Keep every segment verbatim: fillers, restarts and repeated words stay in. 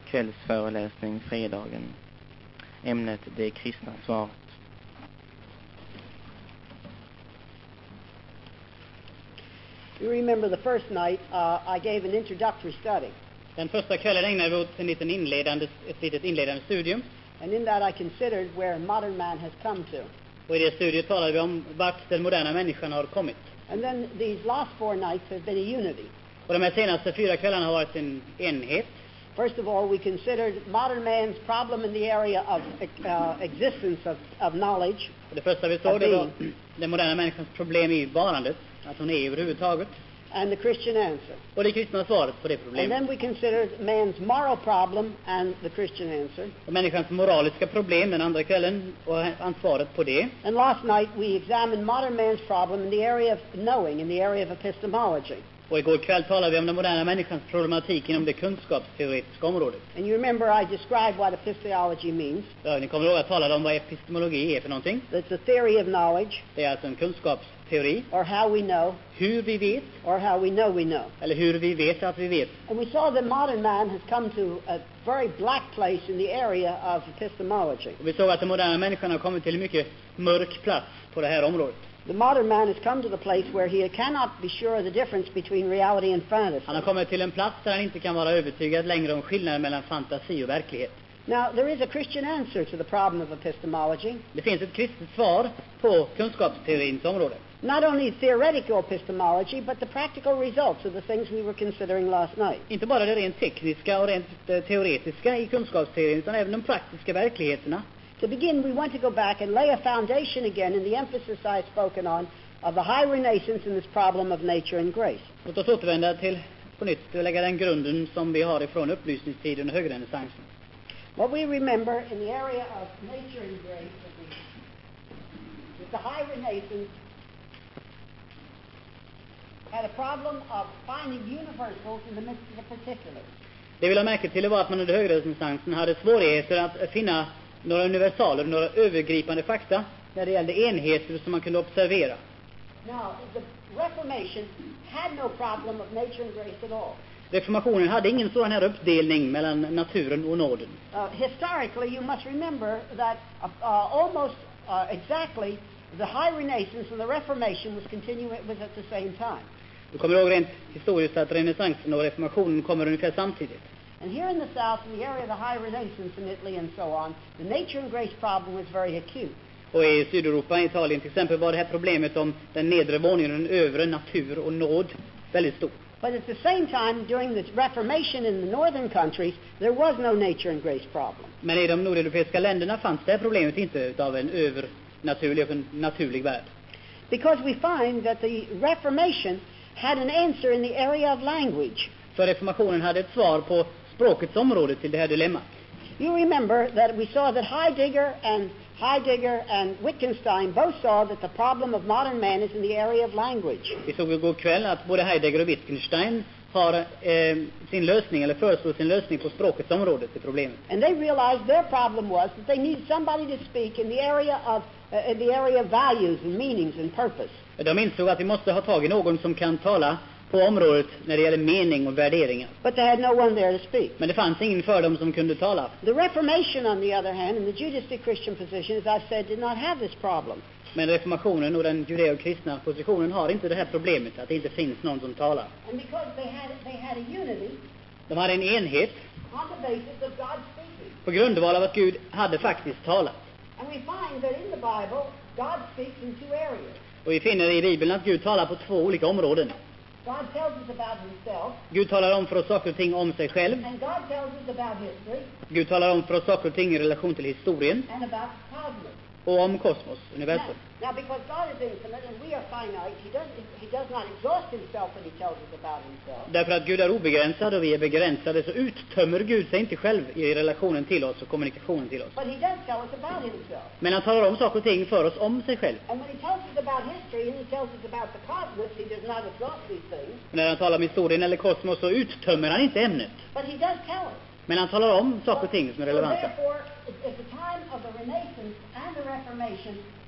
kvällsföreläsning fredagen. Ämnet det kristna svaret. You remember the first night uh, I gave an introductory study. Den första kvällen ägnade vi åt en liten inledande, ett litet inledande studium. And in that I considered where modern man has come to. Och i det studiet talade vi om vart den moderna människan har kommit. And then these last four nights have been a unity. Och de här senaste fyra kvällarna har varit en enhet. First of all, we considered modern man's problem in the area of uh, existence of, of knowledge. Och det första vi såg det var den moderna människans problem i varandet, att hon är överhuvudtaget. And the Christian answer. Och det kristna svaret på det problemet. And then we considered man's moral problem and the Christian answer. Och människans moraliska problem den andra kvällen och ansvaret på det. And last night we examined modern man's problem in the area of knowing, in the area of epistemology. Och igår kväll talade vi om den moderna människans problematik inom det kunskapsteoretiska området. And you remember I described what epistemology means. Ja, ni kommer ihåg att jag talade om vad epistemologi är för någonting. It's a theory of knowledge. Det är alltså en kunskapsteori. Or how we know. Hur vi vet. Or how we know we know. Eller hur vi vet att vi vet. And we saw that modern man has come to a very black place in the area of epistemology. Och vi såg att den moderna människan har kommit till en mycket mörk plats på det här området. The modern man has come to the place where he cannot be sure of the difference between reality and fantasy. Han har kommit till en plats där han inte kan vara övertygad längre om skillnaden mellan fantasi och verklighet. Now, there is a Christian answer to the problem of epistemology. Det finns ett kristet svar på kunskapsteorins område. Not only theoretical epistemology, but the practical results of the things we were considering last night. Inte bara det rent tekniska och rent teoretiska i kunskapsteorin, utan även de praktiska verkligheterna. To begin, we want to go back and lay a foundation again in the emphasis I've spoken on of the high renaissance in this problem of nature and grace. Låt oss återvända till på nytt och lägga den grunden som vi har ifrån upplysningstiden och högrenässansen. What we remember in the area of nature and grace is the high renaissance had a problem of finding universals in the midst of the particulars. Det vi la märke till var att man under högrenässansen hade svårigheter att finna några universaler, några övergripande fakta när det gällde enheter som man kunde observera. Now, the Reformation had no problem of nature and grace at all. Reformationen hade ingen sådan här uppdelning mellan naturen och nåden. Uh, historically, you must remember that uh, uh, almost uh, exactly the high renaissance and the Reformation was continuing was at the same time. Du kommer ihåg rent historiskt att renässansen och reformationen kommer ungefär samtidigt. And here in the South, in the area of the high renaissance in Italy and so on, the nature and grace problem was very acute. Och i Sydeuropa, i Italien till exempel, var det här problemet om den nedre våningen och den övre, natur och nåd, väldigt stort. But at the same time, during the Reformation in the northern countries, there was no nature and grace problem. Men i de nordeuropeiska länderna fanns det här problemet inte av en övernaturlig och en naturlig värld. Because we find that the Reformation had an answer in the area of language. För reformationen hade ett svar på språkets område till det här dilemmat. You remember that we saw that Heidegger and Heidegger and Wittgenstein both saw that the problem of modern man is in the area of language. Vi såg igår kväll att både Heidegger och Wittgenstein har eh, sin lösning eller föreslår sin lösning på språkets område till problemet. And they realized their problem was that they needed somebody to speak in the area of uh, in the area of values and meanings and purpose. De insåg att vi måste ha tag i någon som kan tala på området när det gäller mening och värderingar. But they had no one there to speak. Men det fanns ingen för dem som kunde tala. The Reformation, on the other hand, and the Judeo-Christian position, as I've said, did not have this problem. Men reformationen och den judeo-kristna positionen har inte det här problemet, att det inte finns någon som talar. And because they had, they had a unity, de hade en enhet on the basis of God speaking. På grundval av att Gud hade faktiskt talat. And we find that in the Bible, God speaks in two areas. Och vi finner i Bibeln att Gud talar på två olika områden. God tells us about himself. Gud talar om för oss saker och ting om sig själv. And God tells us about history. Gud talar om för oss saker och ting i relation till historien. And about cosmos. Och om kosmos, universum. Now, now because God is infinite and we are finite, he does, he does not exhaust himself when he tells us about himself. Därför att Gud är obegränsad och vi är begränsade, så uttömmer Gud sig inte själv i relationen till oss och kommunikationen till oss. But he does tell us about himself. Men han talar om saker och ting för oss om sig själv. And when he tells us about history and he tells us about the cosmos, he does not exhaust these things. Och när han talar om historien eller kosmos så uttömmer han inte ämnet. But he does tell us. Men han talar om saker och ting som är relevanta. So therefore, at the time of the Renaissance and the Reformation,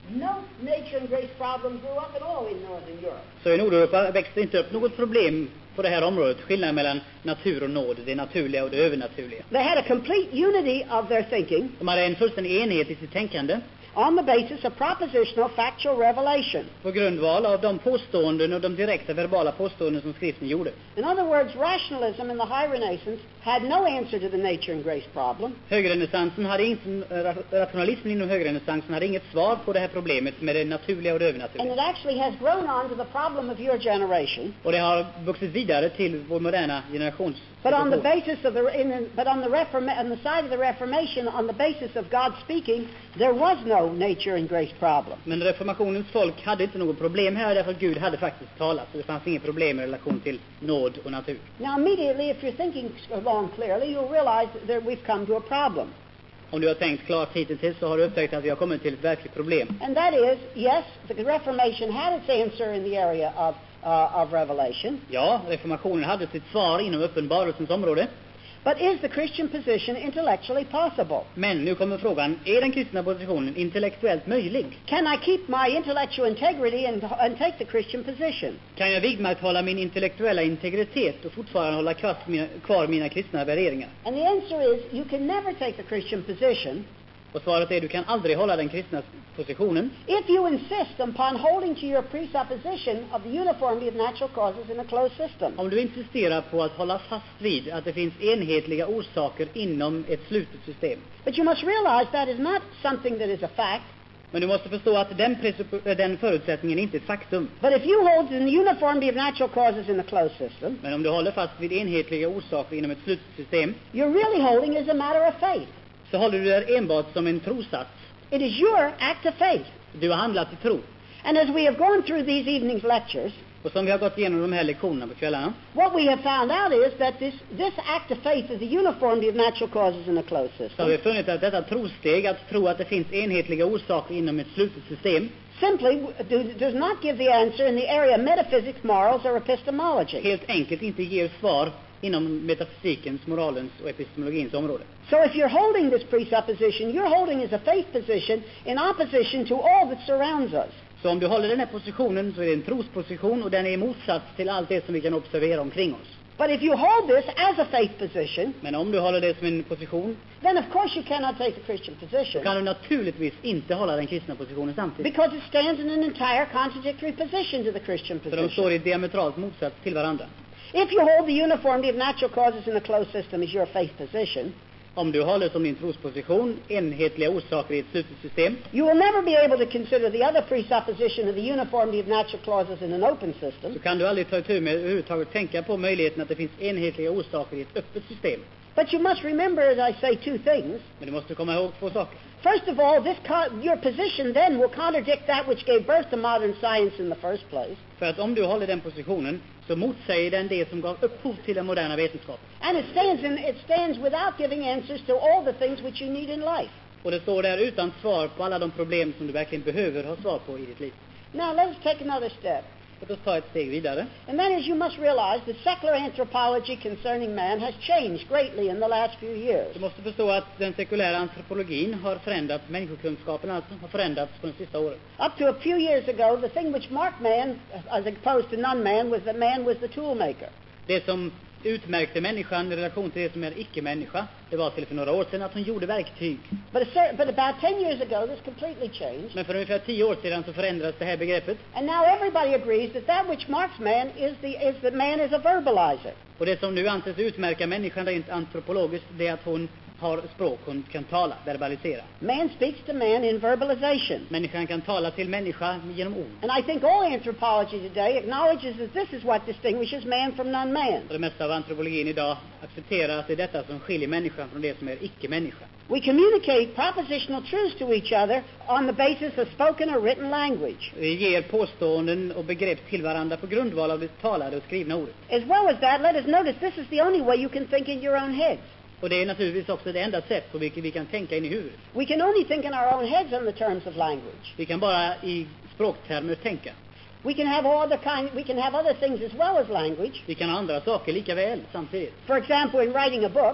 no nature and grace problem grew up at all in Northern Europe. Så i Nordeuropa växte inte upp något problem på det här området, skillnaden mellan natur och nåd, det naturliga och det övernaturliga. They had a complete unity of their thinking De hade en fullständig enhet i sitt tänkande on the basis of propositional factual revelation. på grundval av de påståenden och de direkta verbala påståenden som skriften gjorde. In other words, rationalism in the High Renaissance had no answer to the nature and grace problem. Högrenässansen hade inte, rationalismen inom högrenässansen hade inget svar på det här problemet med det naturliga och det And övernaturliga. it actually has grown on to the problem of your generation. Och det har vuxit vidare till vår moderna generations. But on the basis of the, in, but on the reforma- on the side of the Reformation, on the basis of God speaking, there was no nature and grace problem. Men reformationens folk hade inte något problem här därför att Gud hade faktiskt talat. Så det fanns inget problem i relation till nåd och natur. Now, immediately, if you're thinking along clearly, you'll realize that we've come to a problem. Om du har tänkt klart hittills så har du upptäckt att vi har kommit till ett verkligt problem. And that is, yes, the Reformation had its answer in the area of, uh, of revelation. Ja, reformationen hade sitt svar inom uppenbarelsens område. But is the Christian position intellectually possible? Men nu kommer frågan, är den kristna positionen intellektuellt möjlig? Can I keep my intellectual integrity and, and take the Christian position? Kan jag vidmakthålla min intellektuella integritet och fortfarande hålla kvar mina, kvar mina kristna värderingar? And the answer is, you can never take the Christian position Och svaret är, du kan aldrig hålla den kristna positionen if you insist upon holding to your presupposition of the uniformity of natural causes in a closed system. om du insisterar på att hålla fast vid att det finns enhetliga orsaker inom ett slutet system. But you must realize that is not something that is a fact. Men du måste förstå att den, presupp- den förutsättningen inte är ett faktum. But if you hold to the uniformity of natural causes in a closed system, Men om du håller fast vid enhetliga orsaker inom ett slutet system you're really holding as a matter of faith. så håller du det enbart som en trosats. It is your act of faith. Du har handlat i tro. And as we have gone through these evening's lectures, Och som vi har gått igenom de här lektionerna på kvällarna what we have found out is that this, this act of faith is the uniformity of natural causes in a closed så har vi system. funnit att detta trosteg, att tro att det finns enhetliga orsaker inom ett slutet system, Simply do, does not give the answer in the area of metaphysics, morals, or epistemology. helt enkelt inte ger svar inom metafysikens, moralens och epistemologins område. So if you're holding this presupposition, you're holding as a faith position in opposition to all that surrounds us. Så om du håller den här positionen så är det en trosposition och den är i motsats till allt det som vi kan observera omkring oss. But if you hold this as a faith position, Men om du håller det som en position then of course you cannot take the Christian så position, kan du naturligtvis inte hålla den kristna positionen samtidigt. because it stands in an entire contradictory position to the Christian För de position. står i diametralt motsats till varandra. If you hold the uniformity of natural causes in a closed system as your faith position, Om du håller som din trosposition enhetliga orsaker i ett slutet system you will never be able to consider the other presupposition of the uniformity of natural causes in an open system. så kan du aldrig ta itu med överhuvudtaget tänka på möjligheten att det finns enhetliga orsaker i ett öppet system. But you must remember, as I say, two things. Men du måste komma ihåg två saker. First of all, this co- your position then will contradict that which gave birth to modern science in the first place. För att om du håller den positionen så motsäger den det som gav upphov till den moderna vetenskapen. And it stands, in, it stands without giving answers to all the things which you need in life. Och det står där utan svar på alla de problem som du verkligen behöver ha svar på i ditt liv. Now, let us take another step. Låt oss ta ett steg vidare. And that is, you must realize that secular anthropology concerning man has changed greatly in the last few years. Du måste förstå att den sekulära antropologin har förändrats, människokunskapen alltså har förändrats på de sista åren. Up to a few years ago, the thing which marked man, as opposed to non-man, was that man was the tool maker. Det som utmärkte människan i relation till det som är icke-människa, det var till för några år sedan att hon gjorde verktyg. But, a cer- but about ten years ago, this completely changed. Men för ungefär tio år sedan så förändrades det här begreppet. And now everybody agrees that that which marks man is, the, is that man is a verbalizer. Och det som nu anses utmärka människan rent antropologiskt, det är att hon har språk, hon kan tala, verbalisera. Man speaks to man in verbalization. Människan kan tala till människa genom ord. And I think all anthropology today acknowledges that this is what distinguishes man from non-man. Och det mesta av antropologin idag accepterar att det är detta som skiljer människan från det som är icke-människa. We communicate propositional truths to each other on the basis of spoken or written language. Vi ger påståenden och begrepp till varandra på grundval av det talade och skrivna ordet. As well as that, let us notice this is the only way you can think in your own heads. Och det är naturligtvis också det enda sätt på vilket vi kan tänka in i huvudet. We can only think in our own heads on the terms of language. Vi kan bara i språktermer tänka. We can have all other kind, we can have other things as well as language. Vi kan ha andra saker lika väl samtidigt. For example, in writing a book,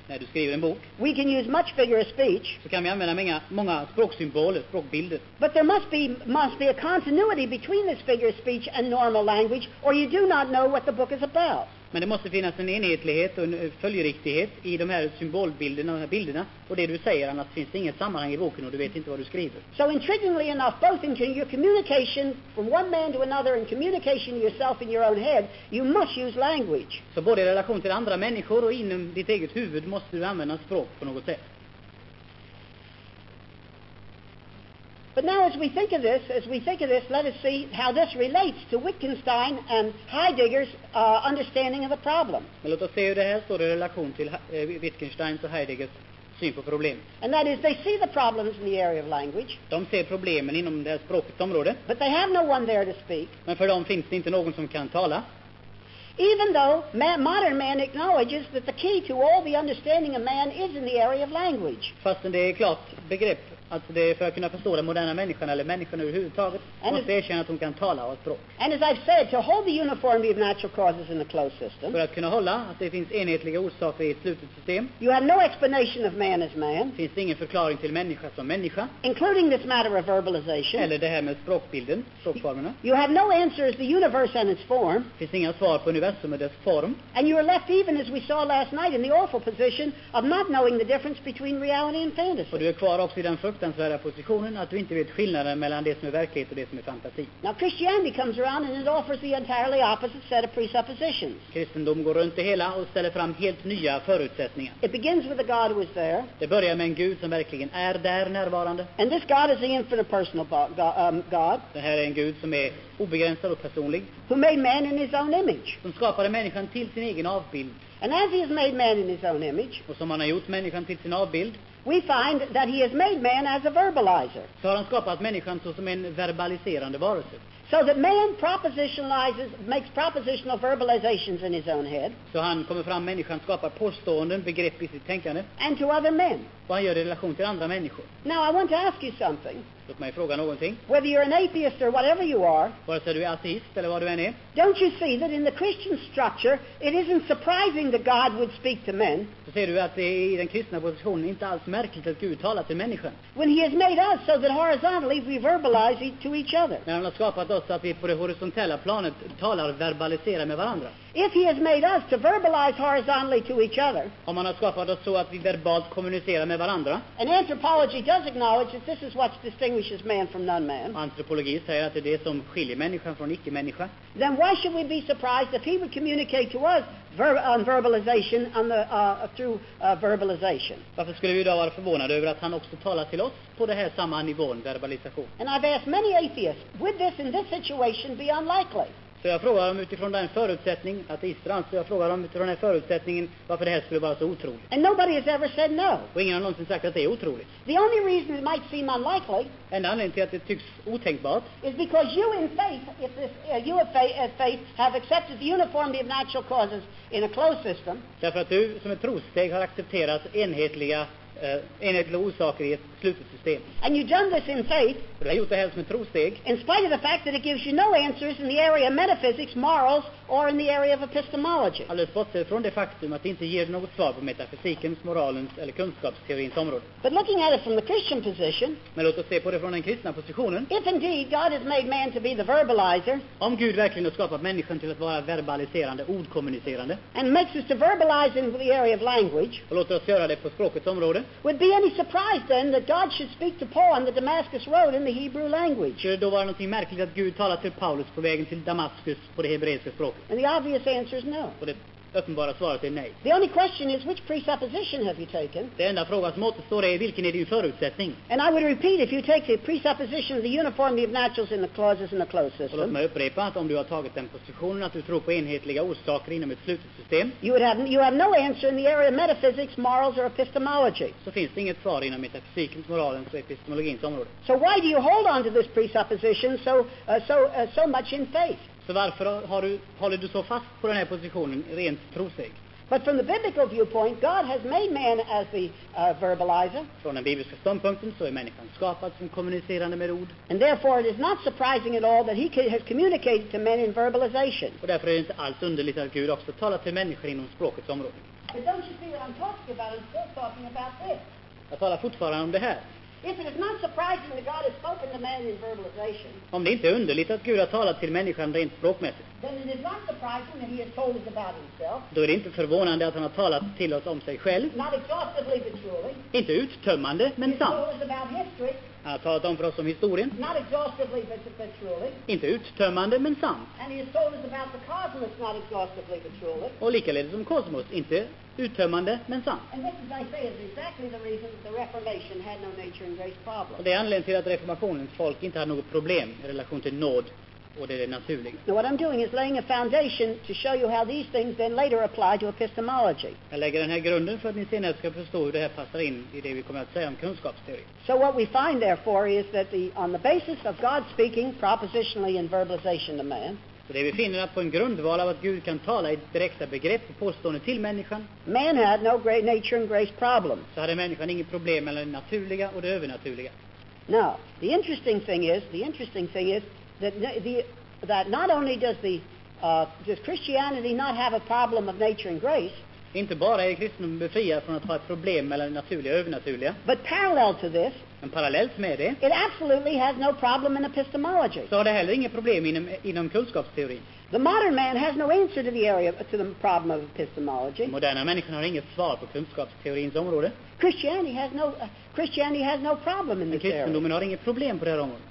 när du skriver en bok, we can use much figure of speech, så kan vi använda många, många språksymboler, språkbilder. but there must be, must be a continuity between this figure of speech and normal language, or you do not know what the book is about. Men det måste finnas en enhetlighet och en följeriktighet i de här symbolbilderna och de här bilderna. Och det du säger, annars finns det inget sammanhang i boken och du vet inte vad du skriver. So intriguingly enough, both in your communication from one man to another and communication to yourself in your own head, you must use language. Så både i relation till andra människor och inom ditt eget huvud måste du använda språk på något sätt. But now as we think of this, as we think of this, let us see how this relates to Wittgenstein and Heidegger's uh, understanding of the problem. Men låt oss se hur det här står i relation till eh, Wittgensteins och Heideggers syn på problem. And that is, they see the problems in the area of language, De ser problemen inom det här språkets område, but they have no one there to speak. men för dem finns det inte någon som kan tala. Even though man, modern man acknowledges that the key to all the understanding of man is in the area of language. Fastän det är klart begrepp att det är för att kunna förstå den moderna människan eller människan överhuvudtaget And måste erkänna att hon kan tala och ha språk. And as I've said, to hold the uniformity of natural causes in a closed system, För att kunna hålla att det finns enhetliga orsaker i ett slutet system you have no explanation of man as man, finns det ingen förklaring till människa som människa, including this matter of verbalization. eller det här med språkbilden, språkformerna. You have no answer as the universe and its form, Finns inga svar på universum och dess form. and you are left, even as we saw last night, in the awful position of not knowing the difference between reality and Och fantasy. du är kvar också i den fruktansvärda positionen att du inte vet skillnaden mellan det som är verklighet och det som är fantasi. Now Christianity comes around and it offers the entirely opposite set of presuppositions. Kristendom går runt det hela och ställer fram helt nya förutsättningar. It begins with a God who is there, Det börjar med en Gud som verkligen är där närvarande. and this God is the infinite personal bo- go- um, God Det här är en Gud som är obegränsad och personlig, who made man in his own image. som skapade människan till sin egen avbild. And as he has made man in his own image, Och som han har gjort människan till sin avbild, we find that he has made man as a verbalizer. så har han skapat människan så som en verbaliserande varelse. So that man propositionalizes, makes propositional verbalizations in his own head, Så han kommer fram, människan skapar påståenden, begrepp i sitt tänkande, and to other men. och han gör det i relation till andra människor. Now I want to ask you something. Låt mig fråga någonting. Whether you're an atheist or whatever you are, Vare sig du är ateist eller vad du än är, don't you see that in the Christian structure, it isn't surprising that God would speak to men så ser du att det är i den kristna positionen inte alls märkligt att Gud talar till människan. when he has made us so that horizontally we verbalize e- to each other? När han har skapat oss så att vi på det horisontella planet talar och verbaliserar med varandra. If he has made us to verbalize horizontally to each other, Om han har skapat oss så att vi verbalt kommunicerar med varandra, and anthropology does acknowledge that this is what distinguishes man from non-man, och antropologi säger att det är det som skiljer människan från icke-människa, then why should we be surprised if he would communicate to us ver- on verbalization on the, uh, through uh, verbalization? varför skulle vi då vara förvånade över att han också talar till oss på det här samma nivån, verbalisation? And I've asked many atheists, would this in this situation be unlikely? Så jag frågar dem utifrån den förutsättning, ateister alltså, jag frågar dem utifrån den här förutsättningen varför det här skulle vara så otroligt. And nobody has ever said no. Och ingen har någonsin sagt att det är otroligt. The only reason it might seem unlikely Enda anledningen till att det tycks otänkbart is because you in faith, if this, uh, you of faith, uh, faith have accepted the uniformity of natural causes in a closed system, därför att du som ett trossteg har accepterat enhetliga, eh, enhetliga orsaker i ett slutet system. and you've done this in faith, Och du har gjort det här som ett trossteg, in spite of the fact that it gives you no answers in the area of metaphysics, morals, or in the area of epistemology. alldeles bortsett från det faktum att det inte ger något svar på metafysikens, moralens eller kunskapsteorins område. But looking at it from the Christian position, Men låt oss se på det från den kristna positionen. if indeed God has made man to be the verbalizer, Om Gud verkligen har skapat människan till att vara verbaliserande, ordkommunicerande, and makes us to verbalize in the area of language, och låter oss göra det på språkets område, would be any surprise then that God should speak to Paul on the Damascus Road in the Hebrew language? skulle det då vara någonting märkligt att Gud talar till Paulus på vägen till Damaskus på det hebreiska språket? And the obvious answer is no. Och det uppenbara svaret är nej. The only question is, which presupposition have you taken? Det enda frågan som återstår är vilken är din förutsättning? And I would repeat, if you take the presupposition of the uniformity of naturals in the clauses in the closed Och låt system, mig upprepa att om du har tagit den positionen att du tror på enhetliga orsaker inom ett slutet system, you would have you have no answer in the area of metaphysics, morals, or epistemology. så finns det inget svar inom metafysikens, moralens och epistemologins område. So why do you hold on to this presupposition so uh, so uh, so much in faith? Så varför har du, håller du så fast på den här positionen rent trossteg? But from the biblical viewpoint, God has made man as the uh, verbalizer, Från den bibliska ståndpunkten så är människan skapad som kommunicerande med ord. and therefore it is not surprising at all that he ca- has communicated to men in verbalization. Och därför är det inte alls underligt att Gud också talar till människor inom språkets område. But don't you see that I'm talking about? I'm still talking about this. Jag talar fortfarande om det här. If it is not surprising that God has spoken to man in verbalization, Om det inte är underligt att Gud har talat till människan rent språkmässigt, then it is not surprising that he has told us about himself, då är det inte förvånande att han har talat till oss om sig själv. not exhaustively but truly. Inte uttömmande, He men has sant. told us about history, Han har talat om för oss om historien. not exhaustively but, but truly. Inte uttömmande, men sant. And he has told us about the cosmos, not exhaustively but truly. Och likaledes om kosmos. Inte uttömmande, men sant. And this, as I say, is exactly the reason that the Reformation had no nature and grace problem. Och det är anledningen till att reformationens folk inte hade något problem i relation till nåd och det är det naturliga. Now what I'm doing is laying a foundation to show you how these things then later apply to epistemology. Jag lägger den här grunden för att ni senare ska förstå hur det här passar in i det vi kommer att säga om kunskapsteori. So what we find therefore is that the, on the basis of God speaking propositionally in verbalization to man, Så det vi finner att på en grundval av att Gud kan tala i direkta begrepp och påstående till människan, man had no great nature and grace problem. så hade människan inget problem mellan det naturliga och det övernaturliga. Now, the interesting thing is, the interesting thing is that n- the, that not only does the uh, does Christianity not have a problem of nature and grace, Inte bara är kristendomen befriad från att ha ett problem mellan det naturliga och övernaturliga, but parallel to this, men parallellt med det it absolutely has no problem in epistemology. så har det heller inget problem inom, inom kunskapsteorin. The modern man has no answer to the area to the problem of epistemology. Den moderna människan har inget svar på kunskapsteorins område. Christianity has no uh, Christianity has no problem in Men this area. kristendomen har inget problem på det här området.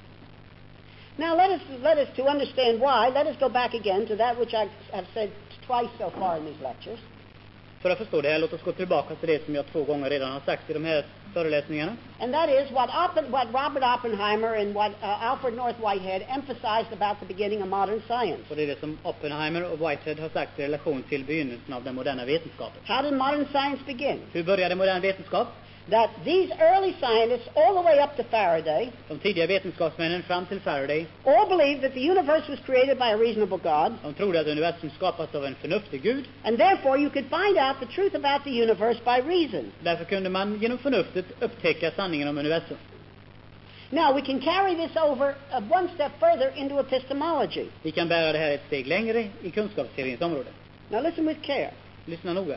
Now let us let us to understand why. Let us go back again to that which I have said twice so far in these lectures. För att förstå det här, låt oss gå tillbaka till det som jag två gånger redan har sagt i de här föreläsningarna. And that is what, Oppen, what Robert Oppenheimer and what uh, Alfred North Whitehead emphasized about the beginning of modern science. Och det är det som Oppenheimer och Whitehead har sagt i relation till begynnelsen av den moderna vetenskapen. How did modern science begin? Hur började modern vetenskap? That these early scientists, all the way up to Faraday, De tidiga vetenskapsmännen fram till Faraday, all believed that the universe was created by a reasonable God, de trodde att universum skapats av en förnuftig Gud. and therefore you could find out the truth about the universe by reason. Därför kunde man genom förnuftet upptäcka sanningen om universum. Now we can carry this over uh, one step further into epistemology. Vi kan bära det här ett steg längre i kunskapsteorins område. Now listen with care. Lyssna noga.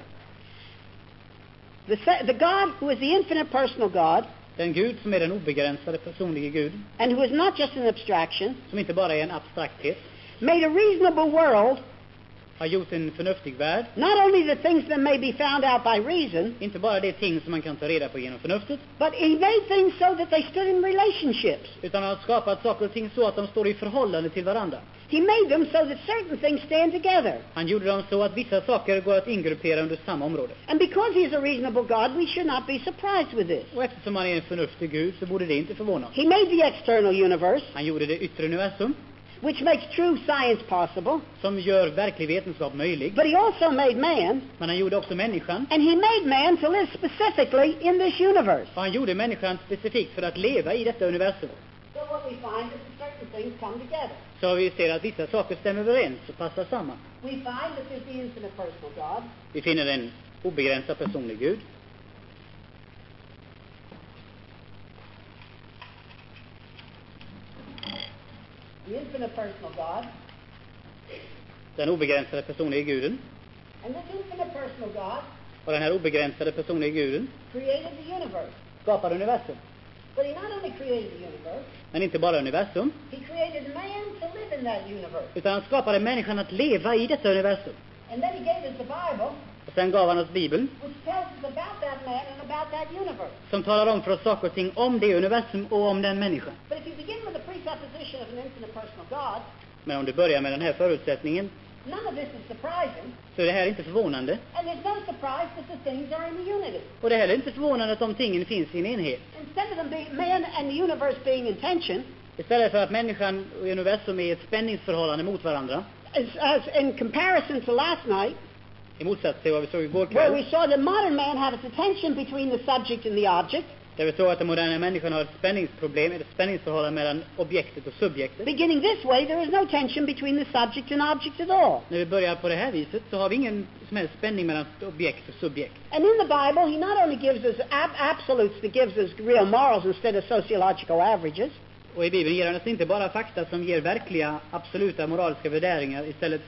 The, se- the God who is the infinite personal God, Den Gud som är den obegränsade personliga Gud, and who is not just an abstraction, som inte bara är en abstrakthet, made a reasonable world, har gjort en förnuftig värld. not only the things that may be found out by reason, Inte bara de ting som man kan ta reda på genom förnuftet, but he made things so that they stood in relationships. utan har skapat saker och ting så att de står i förhållande till varandra. He made them so that certain things stand together. Han gjorde dem så att vissa saker går att ingruppera under samma område. And because he is a reasonable God, we should not be surprised with this. Och eftersom han är en förnuftig Gud så borde det inte förvåna oss. He made the external universe, Han gjorde det yttre universum, which makes true science possible, som gör verklig vetenskap möjlig. but he also made man, Men han gjorde också människan. and he made man to live specifically in this universe. Och han gjorde människan specifikt för att leva i detta universum. So what we find is that certain things come together. Så vi ser att vissa saker stämmer överens och passar samman. We find that there's the infinite personal God, Vi finner en obegränsad personlig Gud. the infinite personal God, Den obegränsade personliga Guden. and this infinite personal God Och den här obegränsade personliga Guden created the universe. skapar universum. But he not only created the universe, Men inte bara universum, he created man to live in that universe. utan han skapade människan att leva i detta universum. And then he gave us the Bible, Och sen gav han oss Bibeln, which tells us about that man and about that universe. som talar om för oss saker och ting om det universum och om den människan. But if you begin with the presupposition of an infinite personal God, Men om du börjar med den här förutsättningen none of this is surprising, så är det här inte förvånande. and there's no surprise that the things are in the unity. Och det är heller inte förvånande att de tingen finns i en enhet. Instead of them being, man and the universe being in tension, Istället för att människan och universum är i ett spänningsförhållande mot varandra, as, as in comparison to last night, i motsats till vad vi såg igår where we kväll, saw the modern man have a tension between the subject and the object, där vi såg att den moderna människan har ett spänningsproblem, ett spänningsförhållande mellan objektet och subjektet. beginning this way, there is no tension between the subject and object at all. När vi börjar på det här viset så har vi ingen som helst spänning mellan objekt och subjekt. And in the Bible, he not only gives us ab- absolutes that gives us real morals instead of sociological averages, Och i Bibeln ger han oss inte bara fakta som ger verkliga, absoluta moraliska värderingar istället för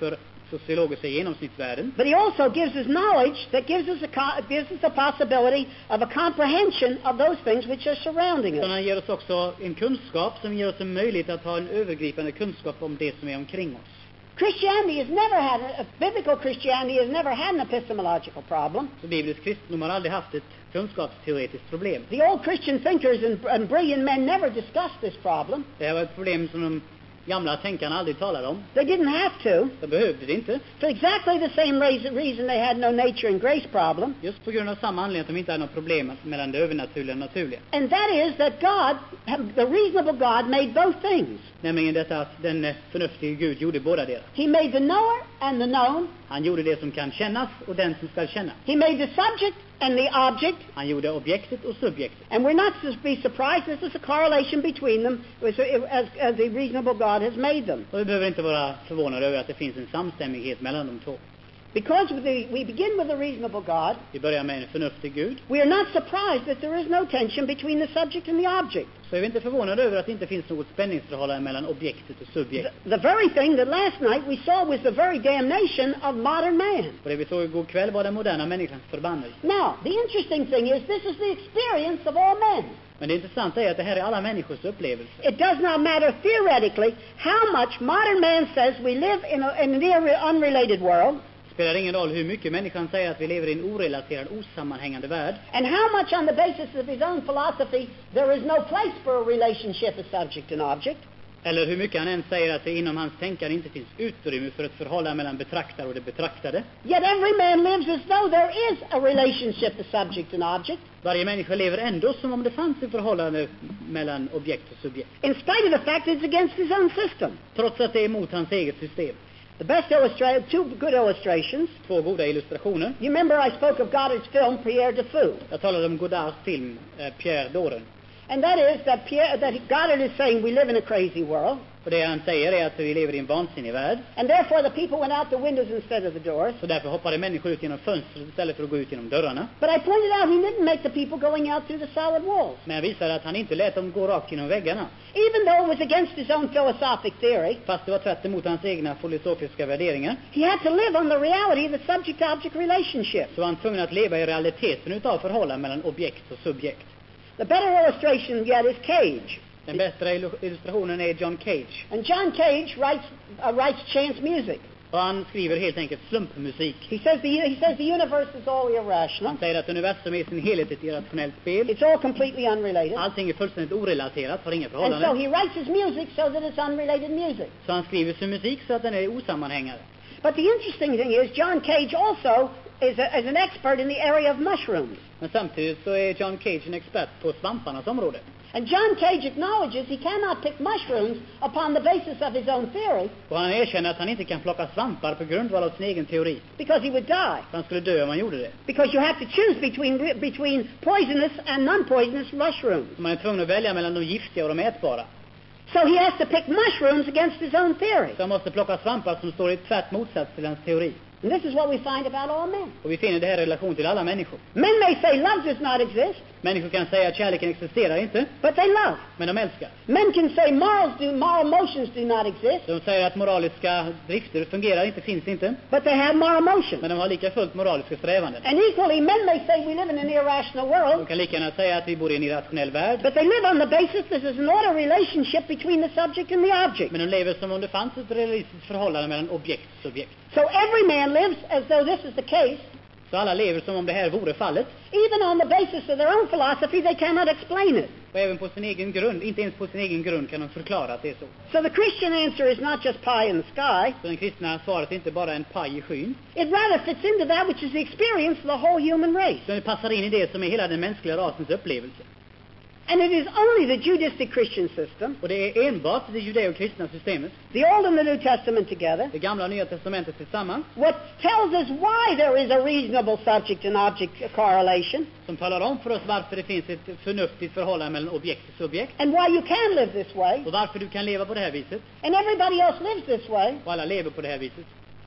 sociologiska genomsnittsvärden. But he also gives us knowledge that gives us a co- gives us the possibility of a comprehension of those things which are surrounding Så us. han ger oss också en kunskap som ger oss en möjlighet att ha en övergripande kunskap om det som är omkring oss. Christianity has never had a, biblical Christianity has never had an epistemological problem. Så biblisk kristendom har aldrig haft ett kunskapsteoretiskt problem. The old Christian thinkers and, and brilliant men never discussed this problem. Det här var ett problem som de gamla tänkarna aldrig talade om. They didn't have to. De behövde det inte. For exactly the same reason, reason they had no nature and grace problem. Just på grund av samma anledning att de inte hade något problem mellan det övernaturliga och naturliga. And that is that God, the reasonable God, made both things. Nämligen detta att den eh, förnuftige Gud gjorde båda deras. He made the knower and the known. Han gjorde det som kan kännas och den som ska känna. He made the subject and the object. Han gjorde objektet och subjektet. And we're not to be surprised. This is a correlation between them as, as, as the reasonable God has made them. Och vi behöver inte vara förvånade över att det finns en samstämmighet mellan de två. Because with the, we begin with a reasonable God, Vi börjar med en förnuftig Gud. we are not surprised that there is no tension between the subject and the object. Så är vi inte förvånade över att det inte finns något spänningsförhållande mellan objektet och The, subjekt. the very thing that last night we saw was the very damnation of modern man. Och det vi såg igår kväll var den moderna människans förbannelse. Now, the interesting thing is this is the experience of all men. Men det intressanta är att det här är alla människors upplevelse. It does not matter theoretically how much modern man says we live in, a, in an irre- unrelated world, Det spelar ingen roll hur mycket människan säger att vi lever i en orelaterad, osammanhängande värld. and how much on the basis of his own philosophy there is no place for a relationship of subject and object. Eller hur mycket han än säger att det inom hans tänkande inte finns utrymme för ett förhållande mellan betraktare och det betraktade. Yet every man lives as though there is a relationship of subject and object, Varje människa lever ändå som om det fanns ett förhållande mellan objekt och subjekt. in spite of the fact it's against his own system. Trots att det är emot hans eget system. The best illustration, two good illustrations. Två goda illustrationer. You remember I spoke of Goddard's film Pierre de Fou. Jag talade om Godards film eh, Pierre Doren. And that is that Pierre, that Goddard is saying we live in a crazy world, Och det han säger är att vi lever i en vansinnig värld. and therefore the people went out the windows instead of the doors. Så därför hoppade människor ut genom fönstret istället för att gå ut genom dörrarna. But I pointed out he didn't make the people going out through the solid walls. Men jag visade att han inte lät dem gå rakt genom väggarna. Even though it was against his own philosophic theory, Fast det var tvärt emot hans egna filosofiska värderingar. he had to live on the reality of the subject-object relationship. Så var han tvungen att leva i realiteten utav förhållanden mellan objekt och subjekt. The better illustration yet is Cage. Den bättre illu- illustrationen är John Cage. And John Cage writes, uh, writes chance music. Och han skriver helt enkelt slumpmusik. He says, the, he says the universe is all irrational. Han säger att universum är i sin helhet ett irrationellt spel. It's all completely unrelated. Allting är fullständigt orelaterat, har inga And so förhållanden. he writes his music so that it's unrelated music. Så han skriver sin musik så att den är osammanhängande. But the interesting thing is John Cage also is, a, is an expert in the area of mushrooms. Men samtidigt så är John Cage en expert på svamparnas område. And John Cage acknowledges he cannot pick mushrooms upon the basis of his own theory Och han erkänner att han inte kan plocka svampar på grundval av sin egen teori. because he would die. För han skulle dö om han gjorde det. Because you have to choose between, between poisonous and non-poisonous mushrooms. Så man är tvungen att välja mellan de giftiga och de ätbara. So he has to pick mushrooms against his own theory. Så han måste plocka svampar som står i tvärt motsats till hans teori. And this is what we find about all men. Och vi finner det här i relation till alla människor. Men may say love does not exist, Människor kan säga att kärleken existerar inte, but they love. men de älskar. Men can say morals do, moral motions do not exist, De säger att moraliska drifter fungerar inte, finns inte, but they have moral motions. men de har lika fullt moraliska strävanden. And equally, men may say we live in an irrational De world, kan lika gärna säga att vi bor i en irrationell värld, but they live on the basis this is an order relationship between the subject and the object. men de lever som om det fanns ett realistiskt förhållande mellan objekt och subjekt. So every man lives as though this is the case, Så alla lever som om det här vore fallet, even on the basis of their own philosophy, they cannot explain it. och även på sin egen grund, inte ens på sin egen grund kan de förklara att det är så. So the Christian answer is not just pie in the sky. Så den kristna svaret är inte bara en paj i skyn, It rather fits into that which is the experience of the whole human race. utan det passar in i det som är hela den mänskliga rasens upplevelse. And it is only the Judaistic Christian system, Och det är enbart det judeo-kristna systemet, the Old and the New Testament together, det gamla och nya testamentet tillsammans, what tells us why there is a reasonable subject and object correlation, som talar om för oss varför det finns ett förnuftigt förhållande mellan objekt och subjekt, and why you can live this way, och varför du kan leva på det här viset, and everybody else lives this way, och alla lever på det här viset,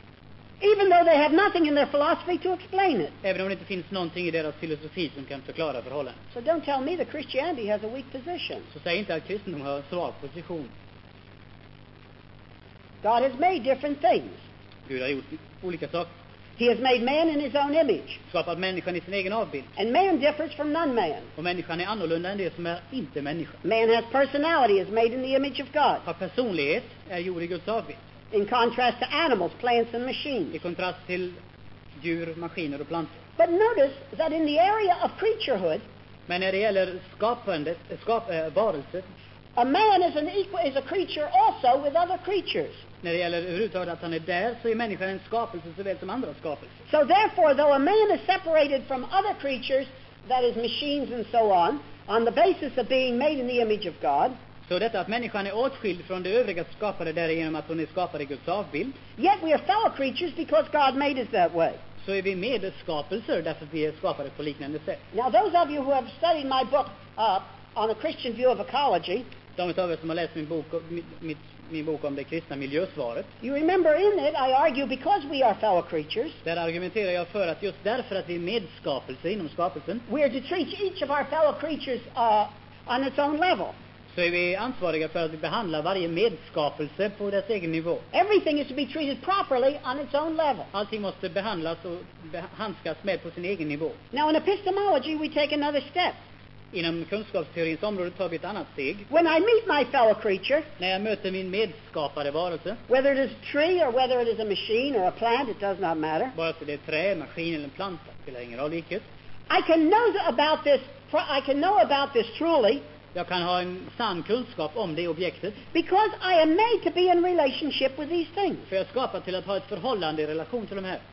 even though they have nothing in their philosophy to explain it. även om det inte finns någonting i deras filosofi som kan förklara förhållandet. So don't tell me that Christianity has a weak position. Så säg inte att kristendom har en svag position. God has made different things. Gud har gjort olika saker. He has made man in his own image. Skapat människan i sin egen avbild. And man differs from non-man. Och människan är annorlunda än det som är inte människa. Man has personality, is made in the image of God. Har personlighet, är gjord i Guds avbild. In contrast to animals, plants and machines. I kontrast till djur, maskiner och plantor. But notice that in the area of creaturehood, Men när det gäller skapandet, skap, äh, varelser, a man is an equal is a creature also with other creatures. när det gäller överhuvudtaget att han är där, så är människan en skapelse såväl som andra skapelser. So therefore, though a man is separated from other creatures, that is machines and so on, on the basis of being made in the image of God, Så detta att människan är åtskild från det övriga skapade därigenom att hon är skapad i Guds avbild, yet we are fellow creatures because God made us that way. så är vi medskapelser därför att vi är skapade på liknande sätt. Now, those of you who have studied my book uh, on a Christian view of ecology, De av er som har läst min bok, min, min, min bok om det kristna miljösvaret, you remember in it I argue because we are fellow creatures, där argumenterar jag för att just därför att vi är medskapelser inom skapelsen, we are to treat each of our fellow creatures uh, on its own level. så är vi ansvariga för att vi behandlar varje medskapelse på dess egen nivå. Everything is to be treated properly on its own level. Allting måste behandlas och behandskas med på sin egen nivå. Now, in epistemology, we take another step. Inom kunskapsteorins område tar vi ett annat steg. When I meet my fellow creature, När jag möter min medskapade varelse, whether it is a tree or whether it is a machine or a plant, it does not matter. vare sig det är trä, maskin eller en planta, spelar ingen roll vilket. I can know about this. I can know about this truly Jag kan ha en sann kunskap om det objektet, because I am made to be in relationship with these things. för jag är skapad till att ha ett förhållande i relation till de här.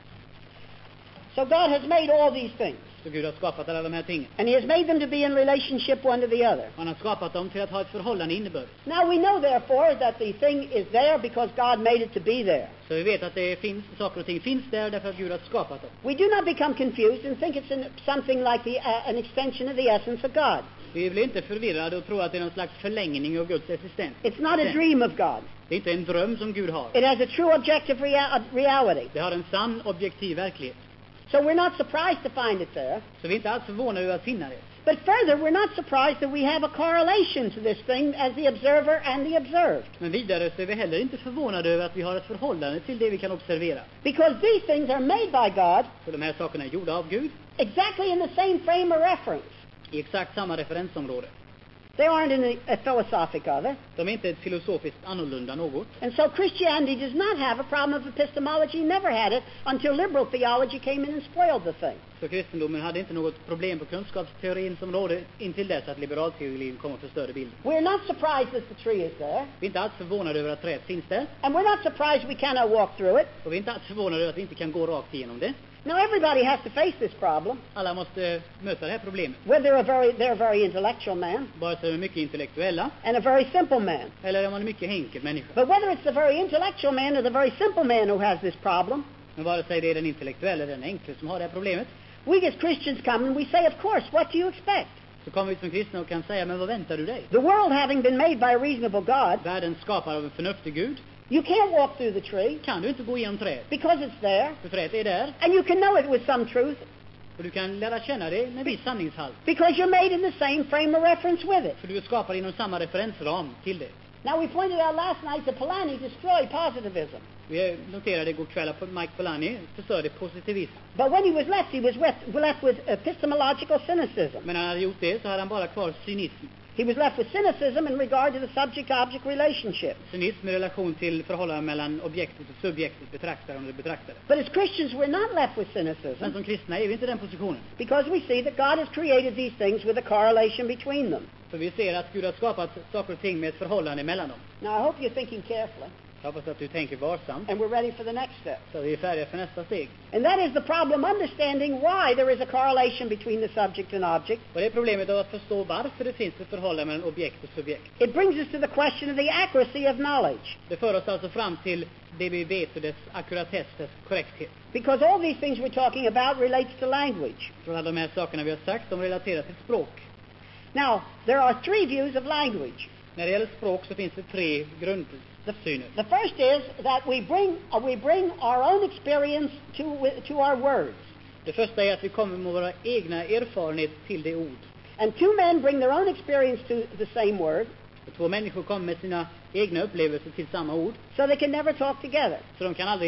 So God has made all these things, Så Gud har skapat alla de här tingen. and He has made them to be in relationship one to the other. Han har skapat dem till att ha ett förhållande innebörd. Now we know, therefore, that the thing is there because God made it to be there. Så vi vet att det finns, saker och ting finns där därför att Gud har skapat dem. We do not become confused and think it's an, something like the, uh, an extension of the essence of God. Vi blir inte förvirrade och tror att det är någon slags förlängning av Guds existens. It's not a dream of God. Det är inte en dröm som Gud har. It has a true objective rea- reality. Det har en sann objektiv verklighet. So we're not surprised to find it there. Så vi är inte alls förvånade över att finna det. But further, we're not surprised that we have a correlation to this thing as the observer and the observed. Men vidare så är vi heller inte förvånade över att vi har ett förhållande till det vi kan observera. Because these things are made by God Så de här sakerna är gjorda av Gud exactly in the same frame of reference. i exakt samma referensområde. They aren't in a, a philosophic other. De är inte ett filosofiskt annorlunda något. And so Christianity does not have a problem of epistemology, never had it, until liberal theology came in and spoiled the thing. Så kristendomen hade inte något problem på kunskapsteorins område intill dess att liberalteorin kom och förstörde bilden. We're not surprised that the tree is there. Vi är inte alls förvånade över att trädet finns där. And we're not surprised we cannot walk through it. Och vi är inte alls förvånade över att vi inte kan gå rakt igenom det. Now, everybody has to face this problem, Alla måste möta det här problemet. whether they're a very, they're a very intellectual man Bara så är de mycket intellektuella and a very simple man. eller är man en mycket enkel människa. But whether it's the very intellectual man or the very simple man who has this problem, Men vare sig det är den intellektuella eller den enkla som har det här problemet, we as Christians come and we say, of course, what do you expect? så kommer vi som kristna och kan säga, men vad väntar du dig? The world having been made by a reasonable God, Världen skapad av en förnuftig Gud. you can't walk through the tree Kan du inte gå igenom trädet? because it's there, För trädet är där and you can know it with some truth och du kan lära känna det med viss sanningshalt. because you're made in the same frame of reference with it. För du är skapad inom samma referensram till det. Now, we pointed out last night that Polanyi destroyed positivism. Vi noterade igår kväll att Mike Polanyi förstörde positivism. But when he was left, he was left, left with epistemological cynicism. Men när han hade gjort det så hade han bara kvar cynism. He was left with cynicism in regard to the subject-object relationship. Cynism i relation till förhållandet mellan objektet och subjektet, betraktaren och det betraktade. But as Christians, we're not left with Men cynicism som kristna är vi inte i den positionen. because we see that God has created these things with a correlation between them. För vi ser att Gud har skapat saker och ting med ett förhållande mellan dem. Now, I hope you're thinking carefully, Jag hoppas att du tänker varsamt, and we're ready for the next step. så vi är färdiga för nästa steg. And that is the problem understanding why there is a correlation between the subject and object. Och det är problemet av att förstå varför det finns ett förhållande mellan objekt och subjekt. It brings us to the question of the accuracy of knowledge. Det för oss alltså fram till det vi vet och dess ackuratess, dess korrekthet. Because all these things we're talking about relates to language. För alla de här sakerna vi har sagt, de relaterar till språk. Now, there are three views of language. När det gäller språk så finns det tre grundsyner. The first is that we bring, uh, we bring our own experience to, to our words. Det första är att vi kommer med våra egna erfarenheter till det ord. And two men bring their own experience to the same word, Och två människor kommer med sina egna upplevelser till samma ord. so they can never talk together. Så de kan aldrig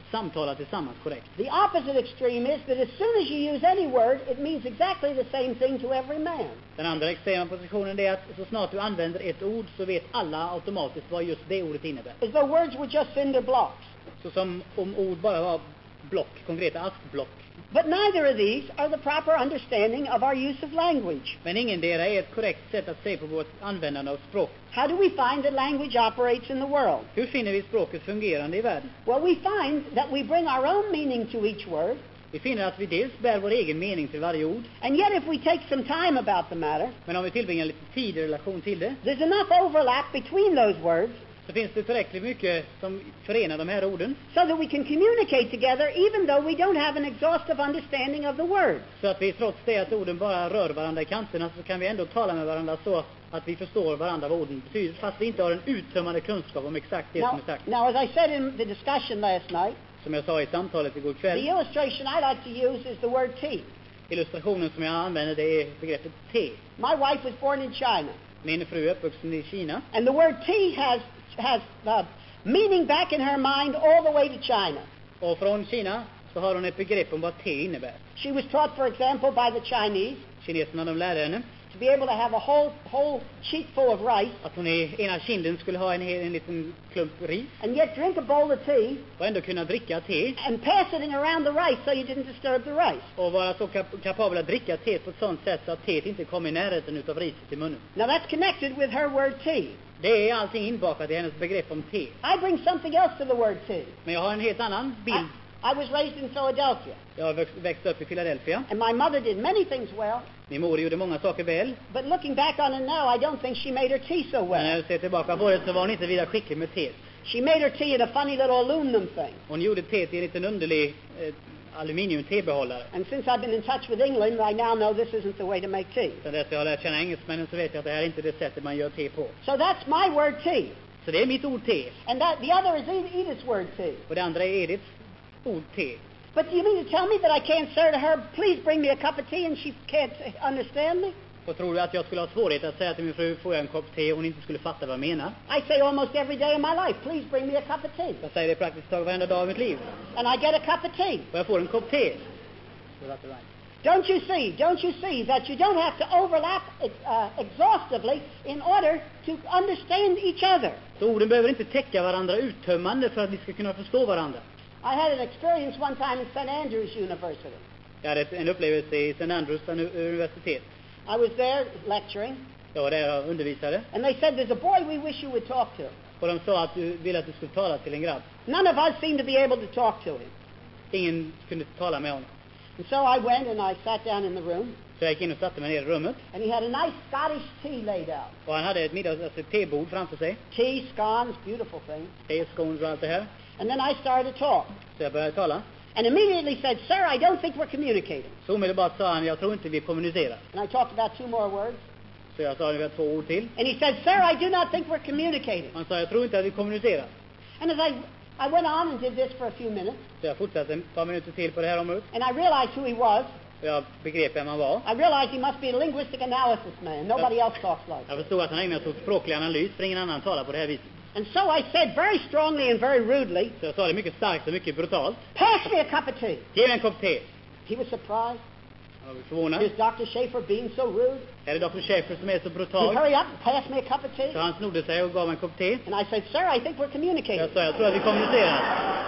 samtala tillsammans korrekt. The opposite extreme is that as soon as you use any word, it means exactly the same thing to every man. Den andra extrema positionen är att så snart du använder ett ord så vet alla automatiskt vad just det ordet innebär. As though words were just cinder blocks. Så som om ord bara var block, konkreta askblock. But neither of these are the proper understanding of our use of language. Men ingendera är ett korrekt sätt att se på vårt användande av språk. How do we find that language operates in the world? Hur finner vi språket fungerande i världen? Well, we find that we bring our own meaning to each word. Vi finner att vi dels bär vår egen mening till varje ord. And yet if we take some time about the matter, Men om vi tillbringar lite tid i relation till det, there's enough overlap between those words så finns det tillräckligt mycket som förenar de här orden. so that we can communicate together even though we don't have an exhaustive understanding of the words. Så att vi trots det att orden bara rör varandra i kanterna så kan vi ändå tala med varandra så att vi förstår varandra vad orden betyder. Fast vi inte har en uttömmande kunskap om exakt det som Now, är sagt. now, as I said in the discussion last night, Som jag sa i samtalet igår the kväll, illustration I like to use is the word tea. illustrationen som jag använder det är begreppet te. My wife was born in China, Min fru är uppvuxen i Kina. and the word tea has has uh, meaning back in her mind all the way to China. Och från Kina så har hon ett begrepp om vad te innebär. She was taught, for example, by the Chinese Kineserna de lärde henne to be able to have a whole whole cheek full of rice att hon i ena kinden skulle ha en, hel- en liten klump ris and yet drink a bowl of tea och ändå kunna dricka te and pass it in around the rice so you didn't disturb the rice. och vara så kap- kapabel att dricka te på ett sådant sätt så att teet inte kommer i närheten utav riset i munnen. Now that's connected with her word tea. Det är allting inbakat i hennes begrepp om te. I bring something else to the word tea. Men jag har en helt annan bild. I, I was raised in Philadelphia, Jag har växt, växt upp i Philadelphia. and my mother did many things well, Min mor gjorde många saker väl. but looking back on it now, I don't think she made her tea so Men när well. jag ser tillbaka på det så var hon inte vidare skicklig med te. She made her tea in a funny little aluminum thing. Hon gjorde teet i en liten underlig eh, aluminium-tebehållare. And since I've been in touch with England, I now know this isn't the way to make tea. Sen dess jag har lärt känna engelsmännen så vet jag att det här är inte det sättet man gör te på. So that's my word tea. Så det är mitt ord te. And that the other is Ed- Edith's word tea. Och det andra är Ediths ord te. But do you mean to tell me that I can't say to her, please bring me a cup of tea, and she can't uh, understand me? Och tror du att jag skulle ha svårighet att säga till min fru, får jag en kopp te, och hon inte skulle fatta vad jag menar? I say almost every day of my life, please bring me a cup of tea. Jag säger det praktiskt taget varenda dag i mitt liv. And I get a cup of tea. Och jag får en kopp te. Så that's right. Don't you see, don't you see that you don't have to overlap uh, exhaustively in order to understand each other? Så orden behöver inte täcka varandra uttömmande för att vi ska kunna förstå varandra. I had an experience one time in Saint Andrews University. Jag hade en upplevelse i Saint Andrews universitet. I was there lecturing, Jag var där och undervisade. and they said, there's a boy we wish you would talk to. Och de sa att du ville att du skulle tala till en grabb. None of us seemed to be able to talk to him. Ingen kunde tala med honom. And so I went and I sat down in the room, Så jag gick in och satte mig ner i rummet. and he had a nice Scottish tea laid out. Och han hade ett middags, alltså ett tebord framför sig. Tea, scones, beautiful thing. Te, scones och allt det här. And then I started to talk. Så jag började tala. And immediately said, sir, I don't think we're communicating. Så omedelbart sa han, jag tror inte vi kommunicerar. And I talked about two more words. Så jag sa ungefär två ord till. And he said, sir, I do not think we're communicating. Han sa, jag tror inte att vi kommunicerar. And as I, I went on and did this for a few minutes, Så jag fortsatte ett par minuter till på det här området. and I realized who he was. Och jag begrep vem han var. I realized he must be a linguistic analysis man. Nobody else talks like Jag that. förstod att han ägnade sig åt språklig analys, för ingen annan talar på det här viset. And so I said very strongly and very rudely, Så jag sa det mycket starkt och mycket brutalt. pass me a cup of tea. Ge mig en kopp te. He was surprised. Jag var förvånad. Is doctor Schaefer being so rude? Är det doktor Schaefer som är så He brutal? hurry up, pass me a cup of tea. Så han snodde sig och gav mig en kopp te. And I said, sir, I think we're communicating. Jag sa, jag tror att vi kommunicerar.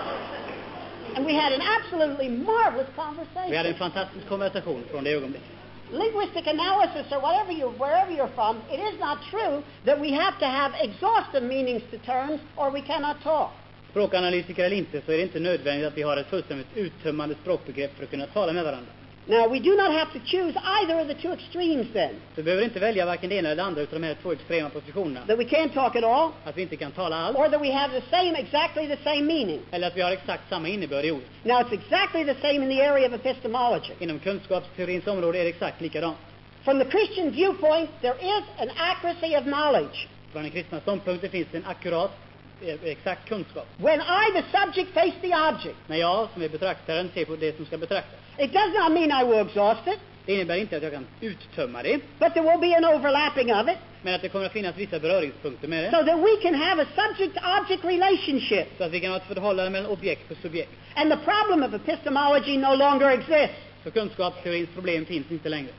And we had an absolutely marvelous Vi hade en conversation. fantastisk konversation från det ögonblicket. Linguistic analysis, or whatever you, wherever you're from, it is not true that we have to have exhaustive meanings to terms or we cannot talk. Språkanalytiker eller inte, så är det inte nödvändigt att vi har ett fullständigt uttömmande språkbegrepp för att kunna tala med varandra. Now, we do not have to choose either of the two extremes then. Så vi behöver inte välja varken det ena eller det andra utav de här två extrema positionerna. That we can't talk at all, Att vi inte kan tala alls, or that we have the same, exactly the same meaning. eller att vi har exakt samma innebörd i ordet. Now, it's exactly the same in the area of epistemology. Inom kunskapsteorins område är det exakt likadant. From the Christian viewpoint, there is an accuracy of knowledge. Från den kristna ståndpunkten finns det en akkurat, eh, exakt kunskap. When I, the subject, face the object, När jag, som är betraktaren, ser på det som ska betraktas. it does not mean I will exhaust it. Det innebär inte att jag kan uttömma det, but there will be an overlapping of it, men att det kommer att finnas vissa beröringspunkter med det. so that we can have a subject-object relationship. Så att vi kan ha ett förhållande mellan objekt och subjekt. And the problem of epistemology no longer exists. Så kunskapsteorins problem finns inte längre.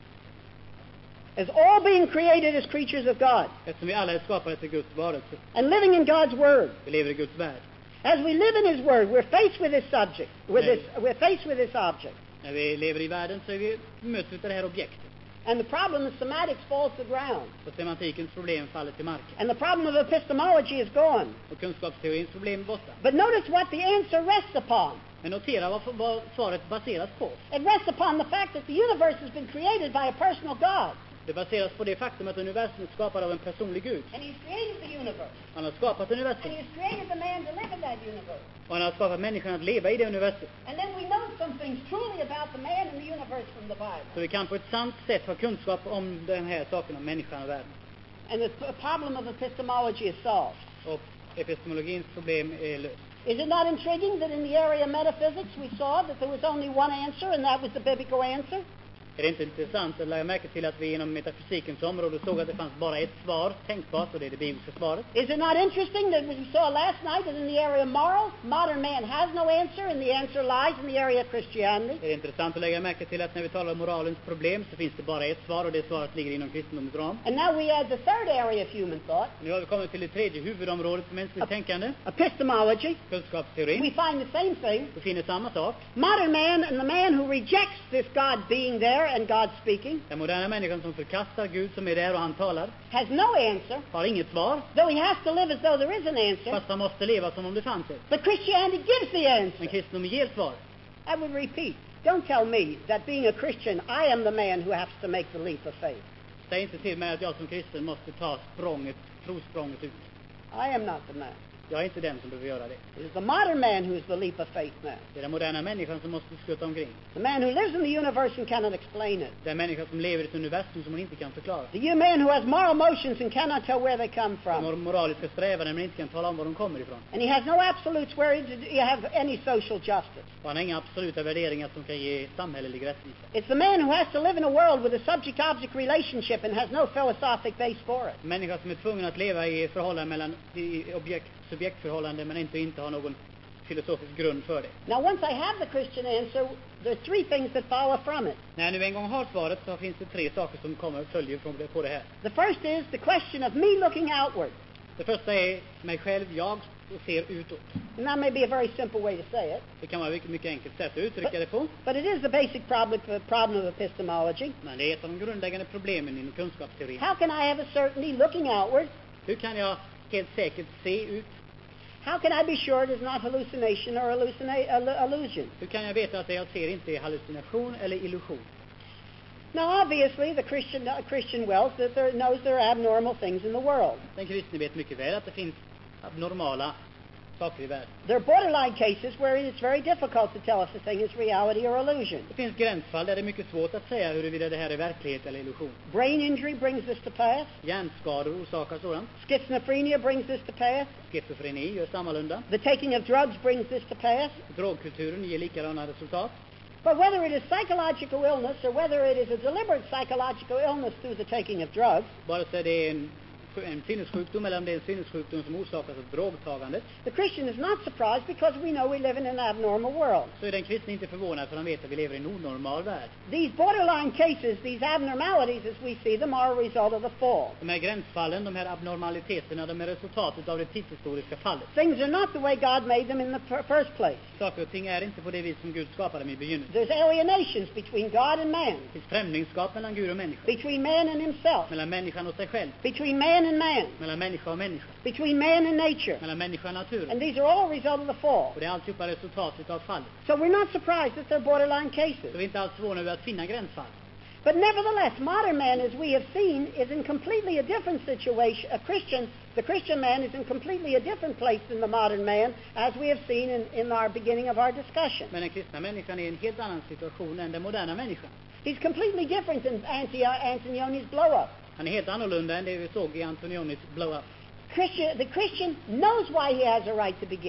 As all being created as creatures of God Eftersom vi alla är skapade till Guds varelse. and living in God's Word. Vi lever i Guds värld. As we live in His Word, we're faced with this subject, with Right. this, we're faced with this object. När vi lever i världen så är vi möts av det här objektet. And the problem of semantics falls to the ground. Och semantikens problem faller till marken. And the problem of epistemology is gone. Och kunskapsteorins problem är borta. But notice what the answer rests upon. Men notera vad, vad svaret baseras på. It rests upon the fact that the universe has been created by a personal God. Det baseras på det faktum att universum är skapat av en personlig Gud. And He's created the universe. Han har skapat And universum. He's created the man to live in that universe. Och han har skapat människan att leva i det universum. And then we know some things truly about the man and the universe from the Bible. Så vi kan på ett sant sätt ha kunskap om den här saken om människan och världen. And the p- problem of epistemology is solved. Och epistemologins problem är löst. Is it not intriguing that in the area of metaphysics we saw that there was only one answer and that was the biblical answer? Är det inte intressant att lägga märke till att vi inom metafysikens område såg att det fanns bara ett svar tänkbart, och det är det bibliska svaret? Is it not interesting that we saw last night that in the area of morals, modern man has no answer and the answer lies in the area of Christianity? Är det intressant att lägga märke till att när vi talar om moralens problem så finns det bara ett svar, och det svaret ligger inom kristendomens ram. And now we add the third area of human thought, Nu har vi kommit till det tredje huvudområdet för mänskligt tänkande, epistemology. kunskapsteorin. We find the same thing. Vi finner samma sak. Modern man and the man who rejects this God being there and God speaking Den moderna människan som förkastar Gud som är där och han talar has no answer, har inget svar, though he has to live as though there is an answer. fast han måste leva som om det fanns ett. But Christianity gives the answer. Men kristendomen ger svar. I would repeat, don't tell me that being a Christian, I am the man who has to make the leap of faith. Säg inte till mig att jag som kristen måste ta språnget, trosprånget ut. I am not the man. Jag är inte den som behöver göra det. It is the modern man who is the leap of faith man. Det är den moderna människan som måste skutta omkring. The man who lives in the universe and cannot explain it. Den människa som lever i ett universum som hon inte kan förklara. The you man who has moral motions and cannot tell where they come Som har from. moraliska strävanden men inte kan tala om var de kommer ifrån. And he has no absolutes where you have any social justice. Och han har inga absoluta värderingar som kan ge samhällelig rättvisa. It's the man who has to live in a world with a subject-object relationship and has no philosophic base for it. En människa som är tvungen att leva i förhållande mellan i objekt, subjektförhållande men inte, inte har någon filosofisk grund för det. Now, once I have the Christian answer, there are three things that follow from it. När jag nu en gång har svaret så finns det tre saker som kommer följer från det, på det här. The first is the question of me looking outward. Det första är mig själv, jag ser utåt. And that may be a very simple way to say it, Det kan vara ett mycket, mycket enkelt sätt att uttrycka det på. but it is the basic problem, problem of epistemology. Men det är ett av de grundläggande problemen inom kunskapsteorin. How can I have a certainty looking outward? Hur kan jag helt säkert se ut? How can I be sure it is not hallucination or hallucina- illu- illusion? Hur kan jag veta att det jag ser inte är hallucination eller illusion? Now, obviously, the Christian, uh, Christian wealth that there, knows there are abnormal things in the world. Den kristne vet mycket väl att det finns abnormala saker i världen. There are borderline cases where it's very difficult to tell if the thing is reality or illusion. Det finns gränsfall där det är mycket svårt att säga huruvida det här är verklighet eller illusion. Brain injury brings this to pass. Hjärnskador orsakar sådant. Schizophrenia brings this to pass. Schizofreni gör sammalunda. The taking of drugs brings this to pass. Drogkulturen ger likadana resultat. But whether it is psychological illness or whether it is a deliberate psychological illness through the taking of drugs, Vare sig det är en, en sinnessjukdom eller om det är en sinnessjukdom som orsakas av drogtagandet, the Christian is not surprised because we know we live in an abnormal world. så är den kristne inte förvånad för han vet att vi lever i en onormal värld. These borderline cases, these abnormalities as we see them, are a result of the fall. De här gränsfallen, de här abnormaliteterna, de är resultatet av det tidshistoriska fallet. Things are not the way God made them in the fir- first place. Saker och ting är inte på det vis som Gud skapade dem i begynnelsen. There's alienations between God and man, Det finns främlingskap mellan Gud och människa. between man and himself, Mellan människan och sig själv. between man and man, Mellan människa och människa. between man and nature. Mellan människa och naturen. And these are all a result of the fall. Och det är alltihopa resultatet av fallet. So we're not surprised that they're borderline Så cases. vi är inte alls förvånade över att finna gränsfall. But nevertheless, modern man, as we have seen, is in completely a different situation. A Christian, the Christian man is in completely a different place than the modern man, as we have seen in, in our beginning of our discussion. Men den kristna människan är i en helt annan situation än den moderna människan. He's completely different than Anti- Antonioni's blow-up. Han är helt annorlunda än det vi såg i Antonionis blow-up. Christian, the Christian knows why he has a right to begin.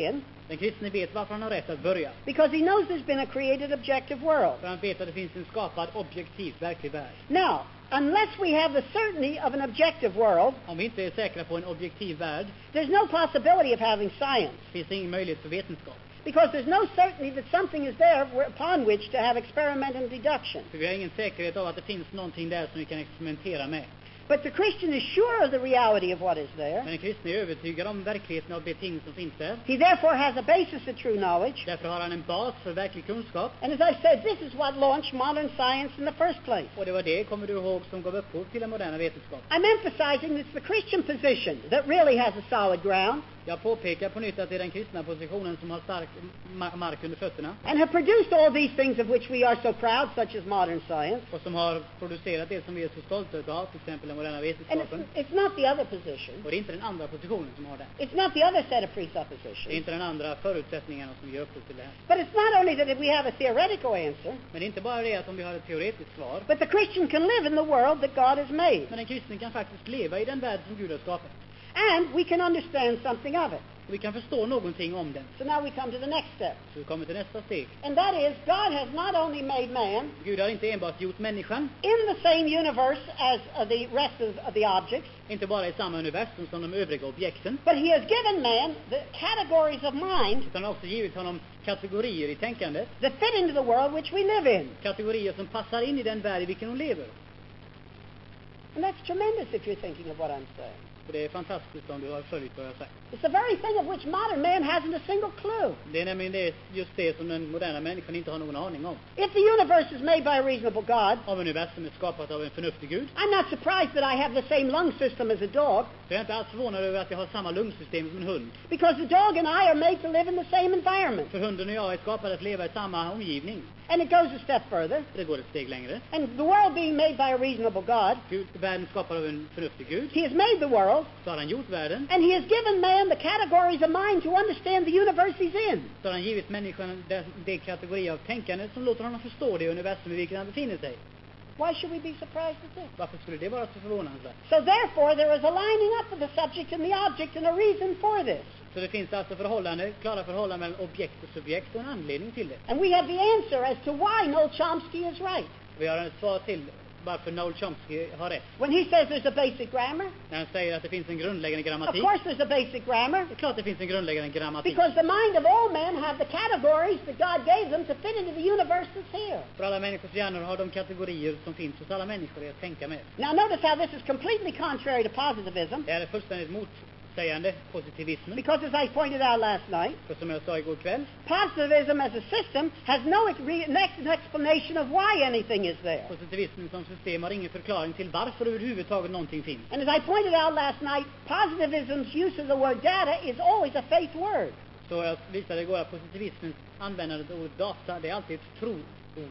Den kristne vet varför han har rätt att börja. Because he knows there's been a created objective world. För han vet att det finns en skapad, objektiv, verklig värld. Now, unless we have the certainty of an objective world, Om vi inte är säkra på en objektiv värld, there's no possibility of having science. finns det ingen möjlighet för vetenskap. Because there's no certainty that something is there where- upon which to have experiment and deduction. För vi har ingen säkerhet av att det finns någonting där som vi kan experimentera med. But the Christian is sure of the reality of what is there. Men den kristne är övertygad om verkligheten av de ting som finns där. He therefore has a basis of true knowledge. Därför har han en bas för verklig kunskap. And as I said, this is what launched modern science in the first place. Och det var det, kommer du ihåg, som gav upphov till den moderna vetenskapen. I'm emphasizing it's the Christian position that really has a solid ground Jag påpekar på nytt att det är den kristna positionen som har stark ma- mark under fötterna. and have produced all these things of which we are so proud, such as modern science. Och som har producerat det som vi är så stolta av, till exempel den moderna And it's, vetenskapen. it's not the other position. Och det är inte den andra positionen som har den. It's not the other set of Det är presuppositions. inte den andra förutsättningarna som ger upphov till det här. But it's not only that we have a theoretical answer, Men det är inte bara det att om vi har ett teoretiskt svar. but the Christian can live in the world that God has made. Men en kristen kan faktiskt leva i den värld som Gud har skapat. And we can understand something of it. Och vi kan förstå någonting om den. So now we come to the next step. Så vi kommer till nästa steg. And that is, God has not only made man Gud har inte enbart gjort människan, in the same universe as uh, the rest of, of the objects, inte bara i samma universum som de övriga objekten, but he has given man the categories of mind utan har också givit honom kategorier i tänkandet. that fit into the world which we live in. Kategorier som passar in i den värld i vilken de lever. And that's tremendous if you're thinking of what I'm saying. Och det är fantastiskt om du har följt vad jag har sagt. It's the very thing of which modern man hasn't a single clue. Det är nämligen det, just det som den moderna människan inte har någon aning om. If the universe is made by a reasonable God, Om universum är skapat av en förnuftig Gud, I'm not surprised that I have the same lung system as a dog, så är jag inte alls förvånad över att jag har samma lungsystem som en hund. because the dog and I are made to live in the same environment. För hunden och jag är skapade att leva i samma omgivning. And it goes a step further. Det går ett steg längre. And the world being made by a reasonable God, Gud, världen skapad av en förnuftig Gud, he has made the world, så har han gjort världen, and he has given man the categories of mind to understand the universe he's in. så har han givit människan det, det kategori av tänkande som låter honom förstå det universum i vilket han befinner sig. Why should we be surprised at this? Varför skulle det vara så förvånansvärt? So therefore, there is a lining up of the subject and the object and a reason for this. Så det finns alltså förhållande, klara förhållanden mellan objekt och subjekt och en anledning till det. And we have the answer as to why Noel Chomsky is right. Vi har ett svar till varför Noel Chomsky har rätt. When he says there's a basic grammar, När han säger att det finns en grundläggande of grammatik. course there's a basic grammar, Det är klart det finns en grundläggande grammatik. because the mind of all men have the categories that God gave them to fit into the universe that's here. För alla människors hjärnor har de kategorier som finns hos alla människor att tänka med. Now notice how this is completely contrary to positivism, Det här är fullständigt motsägande positivismen. because as I pointed out last night, För som jag sa igår kväll, positivism as a system has no ex- re- next explanation of why anything is there. positivismen som system har ingen förklaring till varför överhuvudtaget någonting finns. And as I pointed out last night, positivism's use of the word data is always a faith word. Så jag visade igår att positivismens användande av ordet data, det är alltid ett troord.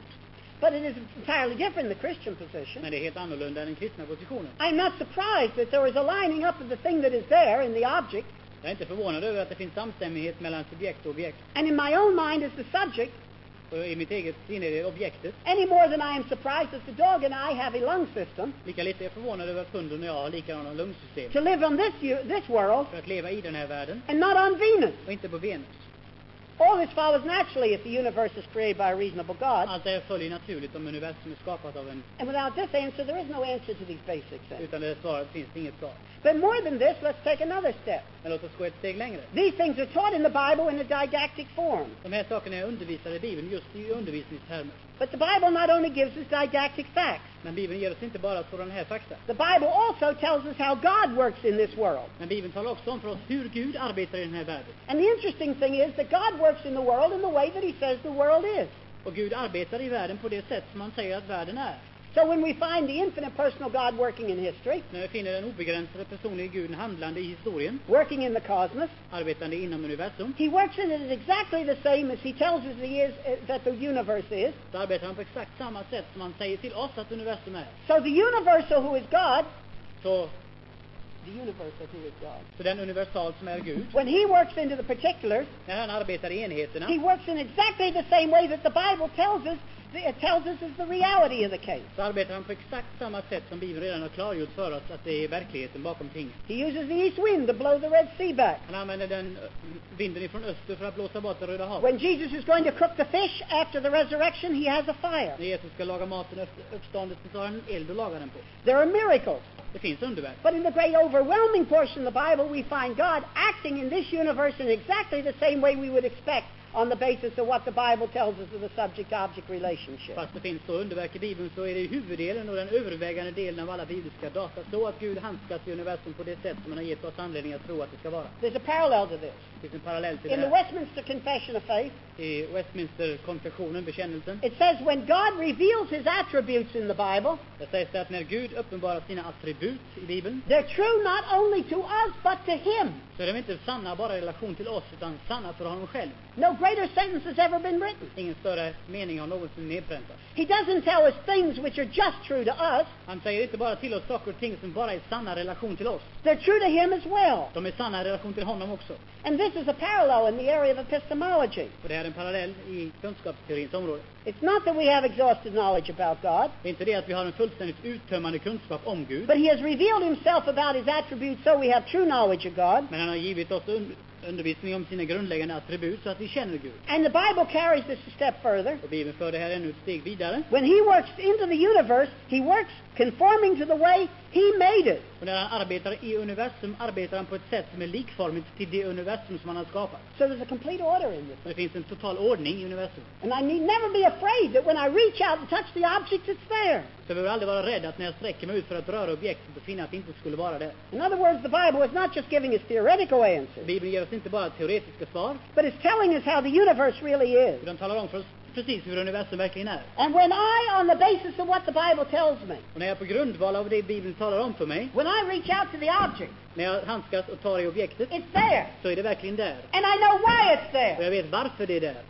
But it is entirely different in the Christian position. Men det är helt annorlunda än den kristna positionen. I'm not surprised that there is a lining up of the thing that is there in the object, Jag är inte förvånad över att det finns samstämmighet mellan subjekt och objekt. and in my own mind is the subject, Och i mitt eget sinne är det objektet. any more than I am surprised that the dog and I have a lung system Lika lite är jag förvånad över att hunden och jag har likadana lungsystem. to live on this, u- this world För att leva i den här världen and not on Venus. och inte på Venus. All this follows naturally if the universe is created by a reasonable God. Allt det här följer naturligt om universum är skapat av en, And without this answer, there is no answer to these basic things. utan det svaret finns det inget svar. But more than this, let's take another step. Men låt oss gå ett steg längre. These things are taught in the Bible in a didactic form. De här sakerna är undervisade i Bibeln just i undervisningstermer. But the Bible not only gives us didactic facts, Men Bibeln ger oss inte bara sådana här fakta. the Bible also tells us how God works in this world. Men Bibeln talar också om för oss hur Gud arbetar i den här världen. And the interesting thing is that God works in the world in the way that he says the world is. Och Gud arbetar i världen på det sätt som han säger att världen är. So when we find the infinite personal God working in history, När vi finner den obegränsade personliga Guden handlande i historien, working in the cosmos, arbetande inom universum, he works in it exactly the same as he tells us he is, uh, that the universe is. så arbetar han på exakt samma sätt som han säger till oss att universum är. So the universal who is God Så the universal who is God. Så den universal som är Gud, When he works into the particulars, när han arbetar i enheterna, he works in exactly the same way that the Bible tells us, it tells us is the reality of the case. så arbetar han på exakt samma sätt som Bibeln redan har klargjort för oss att det är verkligheten bakom tingen. He uses the east wind to blow the Red Sea back. Han använder den ö, vinden ifrån öster för att blåsa bort det Röda havet. When Jesus is going to cook the fish after the resurrection, he has a fire. När Jesus ska laga maten efter uppståndelsen så har han en eld att laga den på. There are miracles. Det finns underverk. But in the great overwhelming portion of the Bible, we find God acting in this universe in exactly the same way we would expect on the basis of what the Bible tells us of the subject-object relationship. Fast det finns så underverk i Bibeln så är det huvuddelen och den övervägande delen av alla bibliska data så att Gud handskas i universum på det sätt som han har gett oss anledning att tro att det ska vara. There's a parallel to this. Det finns en parallell till In det the här. Westminster Confession of Faith, I Westminster-konfessionen, bekännelsen, it says when God reveals his attributes in the Bible, där sägs det att när Gud uppenbarar sina attribut i Bibeln they're true not only to us but to him. så är de inte sanna bara i relation till oss utan sanna för honom själv. No greater sentence has ever been written. Ingen större mening har någonsin nedpräntats. He doesn't tell us things which are just true to us. Han säger inte bara till oss saker och ting som bara är sanna i relation till oss. They're true to him as well. De är sanna i relation till honom också. And this is a parallel in the area of epistemology. Och det är en parallell i kunskapsteorins område. It's not that we have exhausted knowledge about God, Det är inte det att vi har en fullständigt uttömmande kunskap om Gud. but he has revealed himself about his attributes so we have true knowledge of God. Men han har givit oss un- undervisning om sina grundläggande attribut så att vi känner Gud. And the Bible carries this a step further. Och Bibeln för det här ännu ett steg vidare. When he works into the universe, he works conforming to the way he made it. Och när han arbetar i universum arbetar han på ett sätt som är likformigt till det universum som han har skapat. So there's a complete order in this. Så det finns en total ordning i universum. And I need never be afraid that when I reach out and touch the object, it's there. Så jag behöver aldrig vara rädd att när jag sträcker mig ut för att röra objektet och finna att det inte skulle vara det. In other words, the Bible is not just giving us theoretical answers, Bibeln ger oss inte bara teoretiska svar, but it's telling us how the universe really is. utan talar om för oss precis hur universum verkligen är. And when I, on the basis of what the Bible tells me, Och när jag på grundval av det Bibeln talar om för mig, when I reach out to the object, när jag handskas och tar i objektet, it's there. så är det verkligen där. And I know why it's Och there. jag vet varför det är där.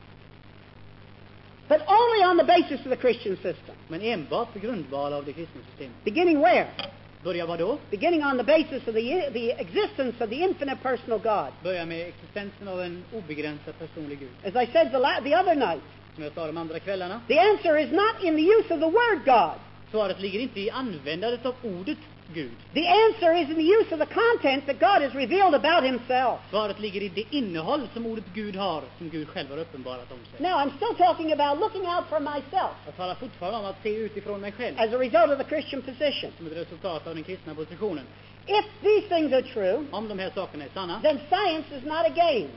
But only on the basis of the Christian system. Men enbart på grundval av det kristna systemet. Beginning where? Börja vad då? Beginning on the basis of the, the existence of the infinite personal God. Börja med existensen av en obegränsad personlig Gud. As I said the, la- the other night, Som jag sa de andra kvällarna. the answer is not in the use of the word God. Svaret ligger inte i användandet av ordet Gud. The answer is in the use of the content that God has revealed about himself. Svaret ligger i det innehåll som ordet Gud har, som Gud själv har uppenbarat om sig. Now, I'm still talking about looking out for myself Jag talar fortfarande om att se utifrån mig själv, as a result of the Christian position. som ett resultat av den kristna positionen. If these things are true, Om de här sakerna är sanna, then science is not a game.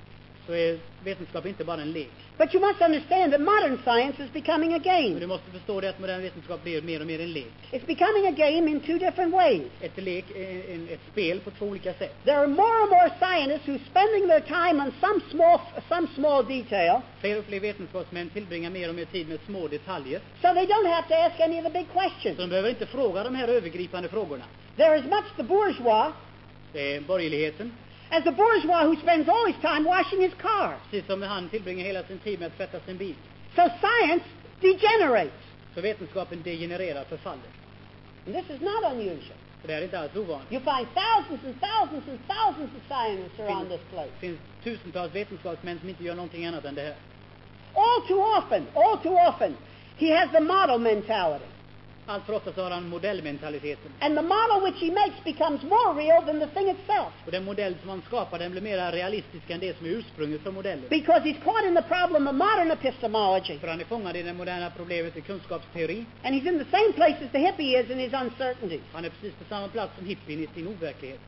så är vetenskap inte bara en lek. But you must understand that modern science is becoming a Men du game. måste förstå det att modern vetenskap blir mer och mer en lek. It's becoming a game in two different ways. Ett lek, en, en, ett spel på två olika sätt. There are more and more scientists who are spending their time on some small, some small detail, Fler och fler vetenskapsmän tillbringar mer och mer tid med små detaljer. so they don't have to ask any of the big Så questions. de behöver inte fråga de här övergripande frågorna. There is much the bourgeois Det är borgerligheten. as the bourgeois who spends all his time washing his car. Precis som han tillbringar hela sin tid med att tvätta sin bil. So science degenerates. Så vetenskapen degenererar, förfaller. And this is not unusual. För det är inte alls ovanligt. You find thousands and thousands and thousands of scientists around this place. Det finns tusentals vetenskapsmän som inte gör någonting annat än det här. All too often, all too often, he has the model mentality. Allt för ofta så har han modellmentaliteten. And the model which he makes becomes more real than the thing itself. Och den modell som han skapar, den blir mer realistisk än det som är ursprunget för modellen. Because he's caught in the problem of modern epistemology. För han är fångad i det moderna problemet i kunskapsteori. And he's in the same place as the hippie is in his uncertainty. Han är precis på samma plats som hippien i sin overklighet.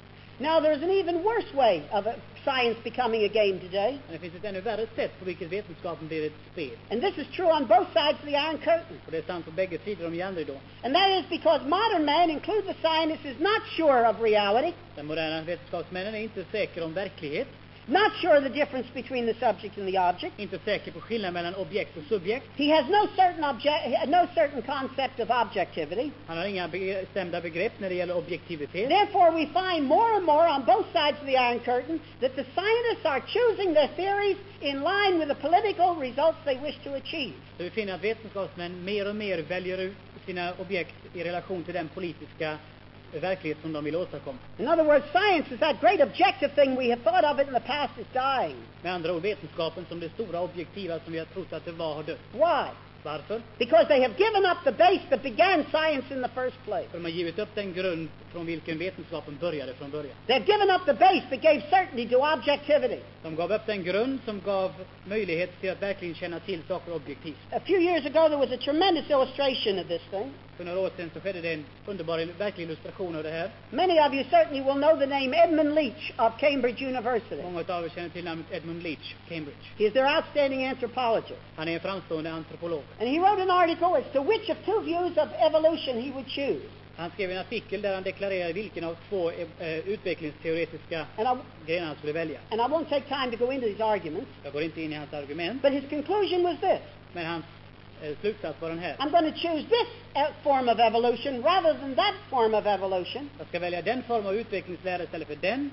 Now there's an even worse way of uh, science becoming a game today. Men det finns ett ännu värre sätt på vilket vetenskapen blir ett spel. And this is true on both sides of the Iron Curtain. Och det är sant på bägge sidor om järnridån. And that is because modern man, include the scientist, is not sure of reality, Den moderna vetenskapsmännen är inte säkra om verklighet. not sure of the difference between the subject and the object. Inte säker på skillnaden mellan objekt och subjekt. He has no certain object, no certain concept of objectivity. Han har inga bestämda begrepp när det gäller objektivitet. Therefore, we find more and more on both sides of the Iron Curtain that the scientists are choosing their theories in line with the political results they wish to achieve. Så vi finner att vetenskapsmän mer och mer väljer ut sina objekt i relation till den politiska verklighet som de vill åstadkomma. In other words, science is that great objective thing we have thought of it in the past is dying. Med andra ord, vetenskapen som det stora objektiva som vi har trott att det var har dött. Why? Varför? Because they have given up the base that began science in the first place. För de har givit upp den grund från vilken vetenskapen började från början. They've given up the base that gave certainty to objectivity. De gav upp den grund som gav möjlighet till att verkligen känna till saker objektivt. A few years ago there was a tremendous illustration of this thing. För några år sedan så skedde det en underbar verklig illustration av det här. Many of you certainly will know the name Edmund Leach of Cambridge University. Många av er känner till namnet Edmund Leach, Cambridge. He is their outstanding anthropologist. Han är en framstående antropolog. And he wrote an article as to which of two views of evolution he would choose. Han skrev en artikel där han deklarerade vilken av två eh, utvecklingsteoretiska And I, grenar han skulle välja. and I won't take time to go into these arguments, Jag går inte in i hans argument, but his conclusion was this. men hans eh, slutsats var den här. I'm going to choose this uh, form of evolution rather than that form of evolution Jag ska välja den form av utvecklingslära istället för den,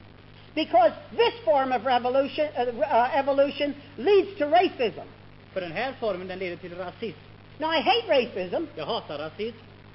because this form of revolution, uh, uh, evolution leads to racism. för den här formen den leder till rasism. Now, I hate racism. Jag hatar rasism,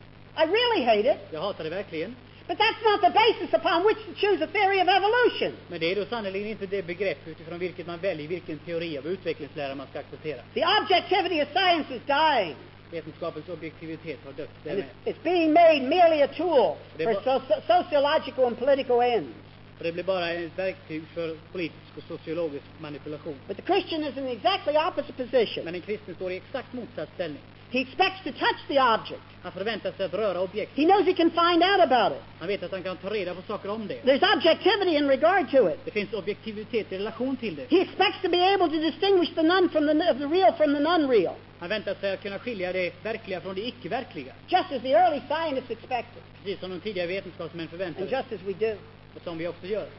I really hate it. jag hatar det verkligen. But that's not the basis upon which to choose a theory of evolution. Men det är då sannolikt inte det begrepp utifrån vilket man väljer vilken teori av utvecklingslära man ska acceptera. The objectivity of science is dying. Vetenskapens objektivitet har dött. Det är And med. it's, it's being made merely a tool Det for var- so- sociological and political ends. Och det blir bara ett verktyg för politisk och sociologisk manipulation. But the Christian is in the exactly opposite position. Men en kristen står i exakt motsatt ställning. He expects to touch the object. Han förväntar sig att röra objekt. He knows he can find out about it. Han vet att han kan ta reda på saker om det. There's objectivity in regard to it. Det finns objektivitet i relation till det. He expects to be able to distinguish the none from the, of the real from the non-real, Han väntar sig att kunna skilja det verkliga från det icke-verkliga. just as the early scientists expected, Precis som de tidigare vetenskapsmän förväntade and sig. just as we do. Och som vi också gör.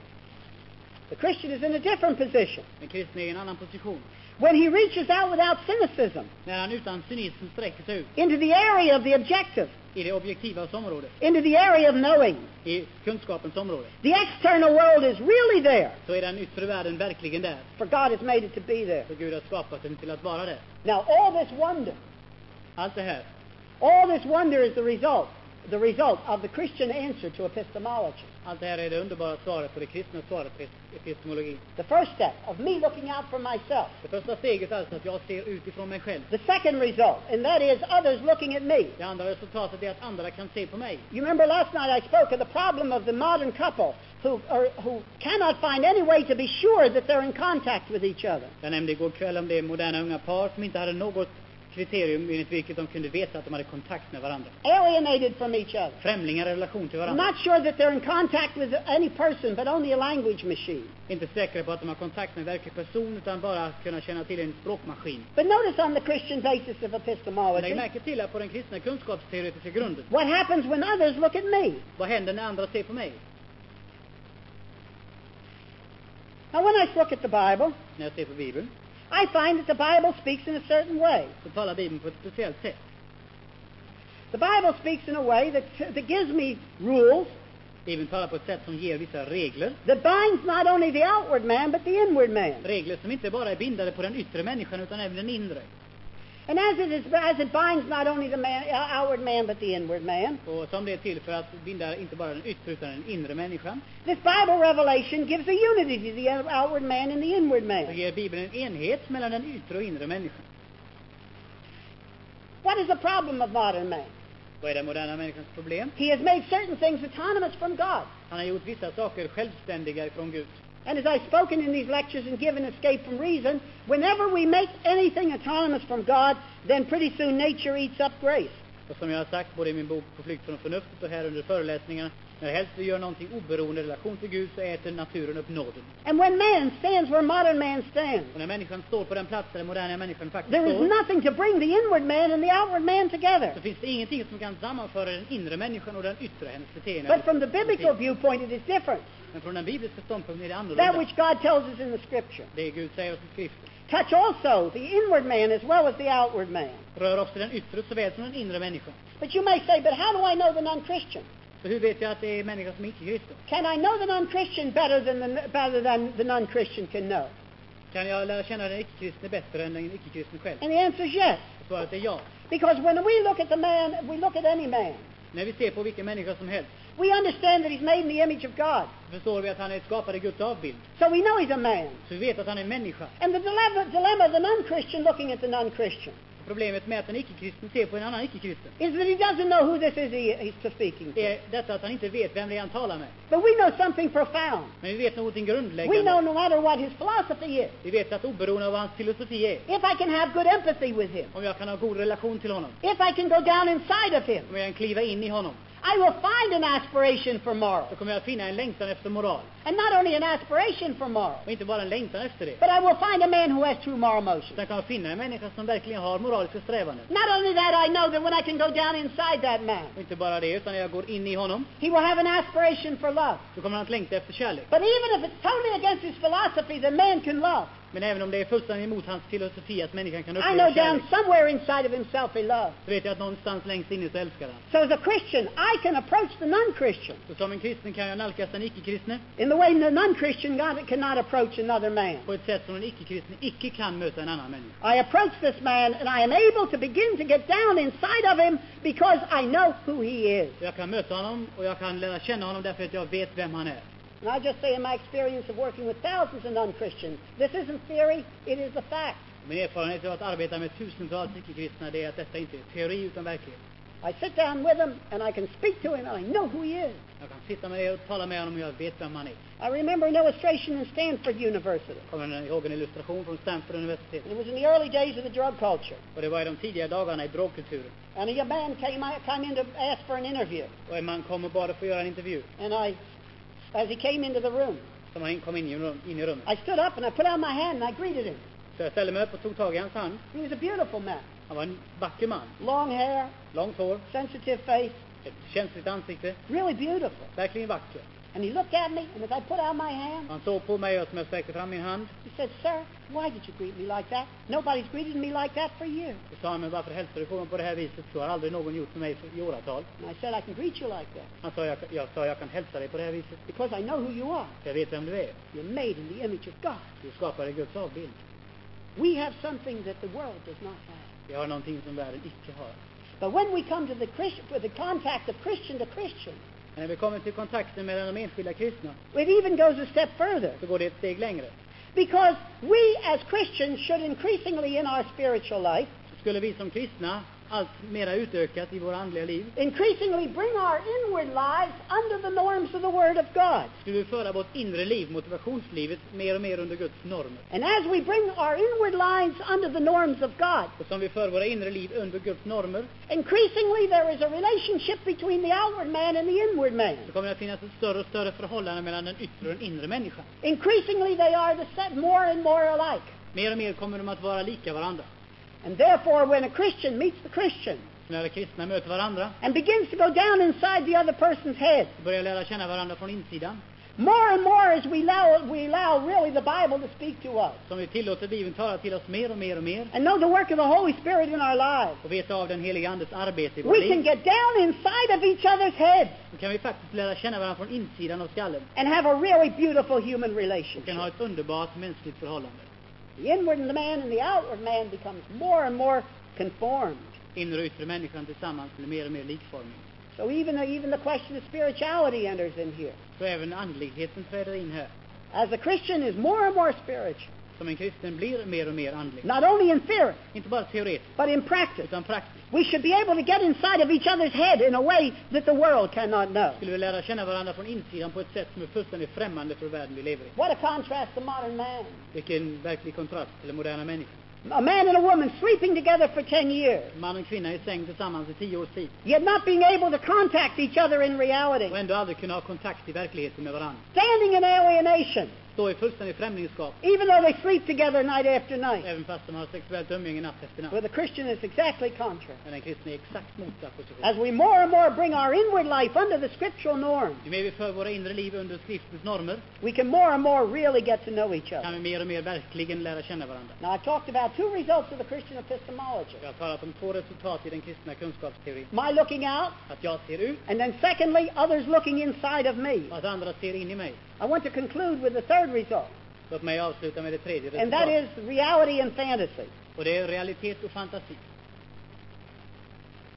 The Christian is in a different position. Den kristna är i en annan position. When he reaches out without cynicism När han utan cynism sträcker sig ut into the area of the objective, i det objektivas område, into the area of knowing, i kunskapens område, the external world is really there, så är den yttre världen verkligen där. for God has made it to be there. För Gud har skapat den till att vara där. Now, all this wonder, Allt det här, all this wonder is the result, the result of the Christian answer to epistemology. allt det här är det underbara svaret på det kristna svaret på epistemologi. The first step of me looking out for myself. Det första steget är alltså att jag ser utifrån mig själv. The second result, and that is others looking at me. Det andra resultatet är att andra kan se på mig. You remember last night I spoke of the problem of the modern couple who, are, who cannot find any way to be sure that they're in contact with each other. Jag nämnde igår kväll om det moderna unga par som inte hade något kriterium enligt vilket de kunde veta att de hade kontakt med varandra. Alienated from each other. Främlingar i relation till varandra. Not sure that they're in contact with any person, but only a language machine. Inte säkra på att de har kontakt med en verklig person utan bara kunna känna till en språkmaskin. But notice on the Christian basis of Men epistemology, lägg märke till att på den kristna kunskapsteoretiska grunden, what happens when others look at me? vad händer när andra ser på mig? Now, when I look at the Bible, När jag ser på Bibeln, I find that the Bible speaks in a certain way. så talar Bibeln på ett speciellt sätt. The Bible speaks in a way that, that gives me rules Bibeln talar på ett sätt som ger vissa regler. that binds not only the outward man, but the inward man. Regler som inte bara är bindade på den yttre människan utan även den inre. And as it, is, as it binds not only the man, uh, outward man, but the inward man, Och som det är till för att binda inte bara den yttre utan den inre människan, this Bible revelation gives a unity to the outward man and the inward så man. ger Bibeln en enhet mellan den yttre och inre människan. What is the problem of modern man? Vad är den moderna människans problem? He has made certain things autonomous from God. Han har gjort vissa saker självständiga ifrån Gud. And as I've spoken in these lectures and given escape from reason, whenever we make anything autonomous from God, then pretty soon nature eats up grace. Och som jag har sagt både i min bok På flykt från förnuftet och här under föreläsningarna, när helst vi gör någonting oberoende i relation till Gud så äter naturen upp nåden. And when man stands where modern man stands, Och när människan står på den plats där den moderna människan faktiskt there is står, nothing to bring the inward man and the outward man together. så finns det ingenting som kan sammanföra den inre människan och den yttre, hennes beteende. But from the biblical viewpoint, it is different. Men från den bibliska ståndpunkten är det That annorlunda. which God tells us in the Scripture. Det Gud säger oss i skriften. Touch also the inward man as well as the outward man. Rör också den yttre såväl som den inre människan. But you may say, but how do I know the non-Christian? Så hur vet jag att det är människan som inte är kristen? Can I know the non-Christian better than the, better than the non-Christian can know? Kan jag lära känna den icke-kristne bättre än den icke-kristne själv? And the answer is yes. Svaret är ja. Because when we look at the man, we look at any man. När vi ser på vilken människa som helst, We understand that he's made in the image of God. Förstår vi att han är skapad i Guds avbild. So we know he's a man. Så vi vet att han är en människa. And the dilemma, dilemma of the non-Christian looking at the non-Christian Problemet med att en icke-kristen ser på en annan icke-kristen is that he doesn't know who this is he, he's speaking to. är detta att han inte vet vem det är han talar med. But we know something profound. Men vi vet någonting We know grundläggande. no matter what his philosophy is, Vi vet att oberoende av vad hans filosofi är, if I can have good empathy with him, om jag kan ha god relation till honom, if I can go down inside of him, om jag kan kliva in i honom, I will find an aspiration for moral. så kommer jag att finna en längtan efter moral. And not only an aspiration for moral, Och inte bara en längtan efter det. but I will find a man who has true moral motion. Utan kan jag finna en människa som verkligen har moraliska strävanden. Not only that, I know that when I can go down inside that man, Och inte bara det, utan när jag går in i honom, he will have an aspiration for love. så kommer han att längta efter kärlek. But even if it's totally against his philosophy, the man can love. Men även om det är fullständigt emot hans filosofi att människan kan I uppleva know down kärlek, somewhere inside of himself he loves. så vet jag att någonstans längst inne så älskar han. So as a Christian, I can approach the non-Christian Så som en kristen kan jag nalkas den icke-kristne in the way the non-Christian God cannot approach another man. på ett sätt som en icke-kristen icke kan möta en annan människa. I approach this man and I am able to begin to get down inside of him because I know who he is. Jag kan möta honom och jag kan lära känna honom därför att jag vet vem han är. And I just say in my experience of working with thousands of non-Christians, this isn't theory, it is a fact. Min erfarenhet av att arbeta med tusentals icke-kristna är att detta inte är teori utan verklighet. I sit down with him and I can speak to him and I know who he is. Jag kan sitta med er och tala med honom och jag vet vem han är. I remember an illustration in Stanford University. Kommer ni ihåg en illustration från Stanford universitet? And it was in the early days of the drug culture. Och det var i de tidiga dagarna i drogkulturen. And a young man came, came in to ask for an interview. Och en man kom och bad att få göra en intervju. And I, as he came into the room, Som han kom in i, rum, in i rummet. I stood up and I put out my hand and I greeted him. Så jag ställde mig upp och tog tag i hans hand. He was a beautiful man. Han var en vacker man. Long hair, Långt hår, sensitive face, ett känsligt ansikte. really beautiful. Verkligen vacker. And he looked at me, and as I put out my hand, Han såg på mig och som jag sträckte fram min hand. he said, "Sir, why did you greet me like that? Nobody's greeted me like that for years." Och sa han, men varför hälsar du på mig på det här viset? Så har aldrig någon gjort för mig i åratal. And I said, "I can greet you like that Han sa, jag, jag sa, jag kan hälsa dig på det här viset. because I know who you are. Jag vet vem du är. You're made in the image of God. Du skapar i Guds avbild. We have something that the world does not have. Vi har någonting som världen icke har. But when we come to the Christian, for the contact of Christian to Christian, Men när vi kommer till kontakten mellan de enskilda kristna, it even goes a step further. så går det ett steg längre. Because we as Christians should increasingly in our spiritual life, Så skulle vi som kristna allt mera utökat i våra andliga liv, increasingly bring our inward lives under the norms of the Word of God. skulle vi föra vårt inre liv, motivationslivet, mer och mer under Guds normer. And as we bring our inward lives under the norms of God, Och som vi för våra inre liv under Guds normer, increasingly there is a relationship between the outward man and the inward man. så kommer det att finnas ett större och större förhållande mellan den yttre och den inre människan. Increasingly they are the set more and more alike. Mer och mer kommer de att vara lika varandra. And therefore when a Christian meets the Christian Så när kristna möter varandra, and begins to go down inside the other person's head, så börjar lära känna varandra från insidan. more and more as we allow, we allow really the Bible to speak to us Som vi tillåter Bibeln tala till oss mer och mer och mer. and know the work of the Holy Spirit in our lives, Och veta av den heliga Andes arbete i vårt we can liv. get down inside of each other's heads Så kan vi faktiskt lära känna varandra från insidan av skallen. and have a really beautiful human Och kan relationship. ha ett underbart mänskligt förhållande. The inward man and the outward man becomes more and more conformed. Inre och yttre människan tillsammans blir mer och mer likformig. So even, even the question of spirituality enters in here. Så även andligheten träder in här. As a Christian is more and more spiritual, Som en kristen blir mer och mer andlig. not only in theory, Inte bara teoretiskt, but in practice. utan praktiskt. We should be able to get inside of each other's head in a way that the world cannot know. Skulle vi lära känna varandra från insidan på ett sätt som är fullständigt främmande för världen vi lever i. What a contrast to modern man. Vilken verklig kontrast till den moderna människan. A man and a woman sleeping together for ten years, Man och kvinna i säng tillsammans i tio års tid. yet not being able to contact each other in reality. Och ändå aldrig kunna ha kontakt i verkligheten med varandra. Standing in alienation, Stå i fullständig främlingskap. even though they sleep together night after night. Även fast de har sexuellt umgänge natt efter natt. Where the Christian is exactly contrary. Men den kristna är exakt motsatt position. As we more and more bring our inward life under the scriptural norm, Ju mer vi för våra inre liv under skriftens normer, we can more and more really get to know each kan other. vi mer och mer verkligen lära känna varandra. Now, I've talked about two results of the Christian epistemology. Jag har talat om två resultat i den kristna kunskapsteorin. My looking out, Att jag ser ut and then secondly, others looking inside of me. och att andra ser in i mig. I want to conclude with the third result, Låt mig avsluta med det tredje and that resultatet. is reality and fantasy. Och det är realitet och fantasi.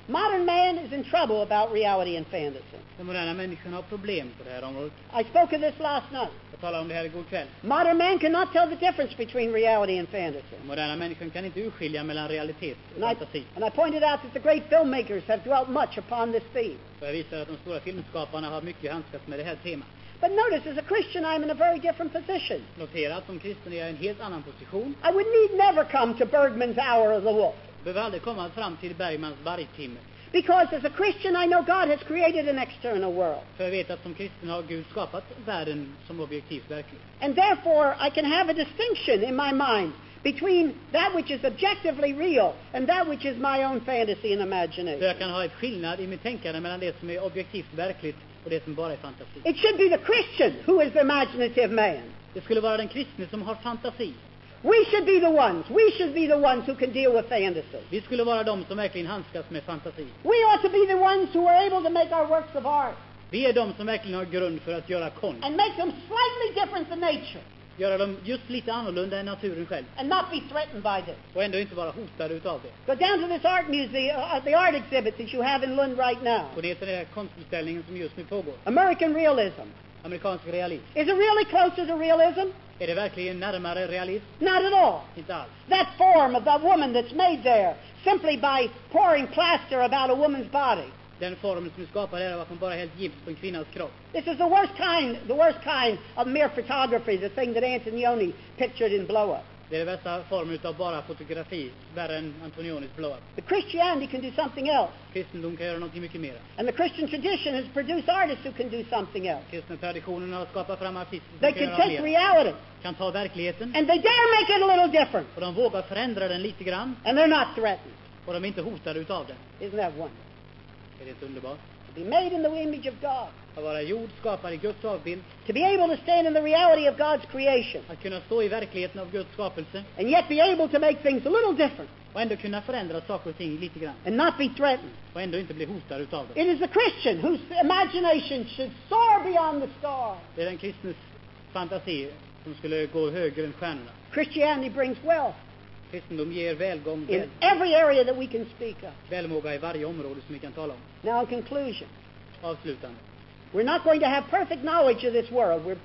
Modern man is in trouble about reality and fantasy. Den moderna människan har problem på det här området. I spoke of this last night. Jag talade om det här igår kväll. Modern man cannot tell the difference between reality and fantasy. Den moderna människan kan inte urskilja mellan realitet och And I, fantasi. and I pointed out that the great filmmakers have dwelt much upon this theme. Och jag visar att de stora filmskaparna har mycket handskats med det här temat. But notice, as a Christian, I'm in a very different position. Notera att som kristen är jag i en helt annan position. I would need never come to Bergman's hour of the wolf. Behöver aldrig komma fram till Bergmans vargtimme. Because as a Christian, I know God has created an external world. För jag vet att som kristen har Gud skapat världen som objektivt verklig. And therefore, I can have a distinction in my mind between that which is objectively real and that which is my own fantasy and Så imagination. jag kan ha ett skillnad i mitt tänkande mellan det som är objektivt verkligt och det som bara är fantasi. It should be the Christian who is the imaginative man. Det skulle vara den kristne som har fantasi. We should be the ones. We should be the ones who can deal with fantasy. Vi skulle vara de som verkligen handskas med fantasi. We ought to be the ones who are able to make our works of art Vi är de som verkligen har grund för att göra konst. and make them slightly different than nature Göra dem just lite annorlunda än naturen själv. and not be threatened by this. Och ändå inte vara hotade utav det. Go down to this art museum, uh, the art exhibit that you have in Lund right now. Och det är den här konstutställningen som just nu pågår. American realism. Amerikansk realism. Is it really closer to realism? Är det verkligen närmare realism? Not at all. Inte alls. That form of that woman that's made there simply by pouring plaster about a woman's body. Den formen som är skapad är att man bara helt gips på en kvinnas kropp. This is the worst kind, the worst kind of mere photography, the thing that Antonioni pictured in Blow Up. Det är den värsta formen utav bara fotografi, värre än Antonionis Blow Up. But Christianity can do something else. Kristendom kan göra något mycket mer. And the Christian tradition has produced artists who can do something else. Kristna traditionen har skapat fram artister som They kan can göra take mer. reality Kan ta verkligheten and they dare make it a little different. och de vågar förändra den lite grann And they're not threatened. och de är inte hotade utav den. Isn't that wonderful? Är det inte underbart? To be made in the image of God. Att vara jord skapad i Guds avbild. To be able to stand in the reality of God's creation. Att kunna stå i verkligheten av Guds skapelse. And yet be able to make things a little different. Och ändå kunna förändra saker och ting lite grann. And not be threatened. Och ändå inte bli hotad utav det. It is the Christian whose imagination should soar beyond the stars. Det är den kristnes fantasi som skulle gå högre än stjärnorna. Christianity brings wealth Kristendom ger välgång, in väl, every area that we can speak of. välmåga i varje område som vi kan tala om. Now, in conclusion, Avslutande. we're not going to have perfect knowledge of this world. We're,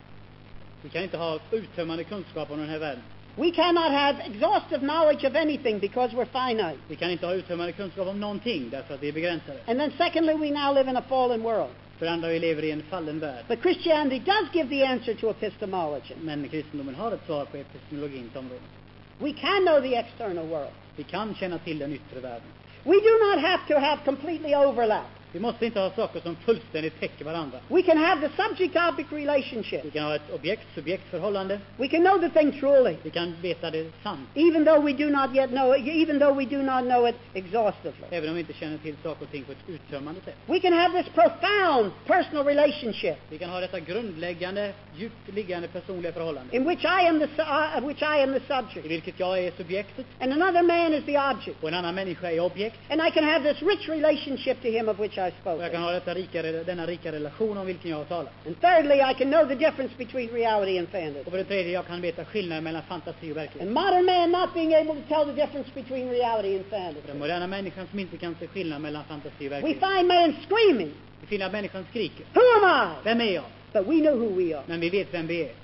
Vi kan inte ha uttömmande kunskap om den här världen. we cannot have exhaustive knowledge of anything because we're finite. Vi kan inte ha uttömmande kunskap om någonting därför att vi är begränsade. And then secondly, we now live in a fallen world. För det andra, vi lever i en fallen värld. But Christianity does give the answer to epistemology. Men kristendomen har ett svar på epistemologins område. We can know the external world. Vi kan känna till den yttre världen. We do not have to have completely overlap. Vi måste inte ha saker som fullständigt täcker varandra. We can have the subject-object Vi relationship. kan ha ett objekt-subjekt-förhållande. We can know the thing truly, Vi kan veta det sant, even though we do not yet know it, even though we do not know it exhaustively. även om vi inte känner till saker och ting på ett uttömmande sätt. We can have this profound personal relationship Vi kan ha detta grundläggande, djupt liggande personliga förhållande. in which I am the su- uh, which I am the I subject, vilket jag är subjektet and another man is the object, och en annan människa är objekt. and I can have this rich relationship to him of which I spoke. Och jag kan ha detta rika, denna rika relation om vilken jag har talat. And thirdly, I can know the difference between reality and fantasy. Och för det tredje, jag kan veta skillnaden mellan fantasi och verklighet. And modern man not being able to tell the difference between reality and fantasy. Den moderna människan som inte kan se skillnad mellan fantasi och We verklighet. find man screaming, Vi finner att människan skriker. "Who am I?" Vem är jag? But we know who we are. Men vi vet vem vi är.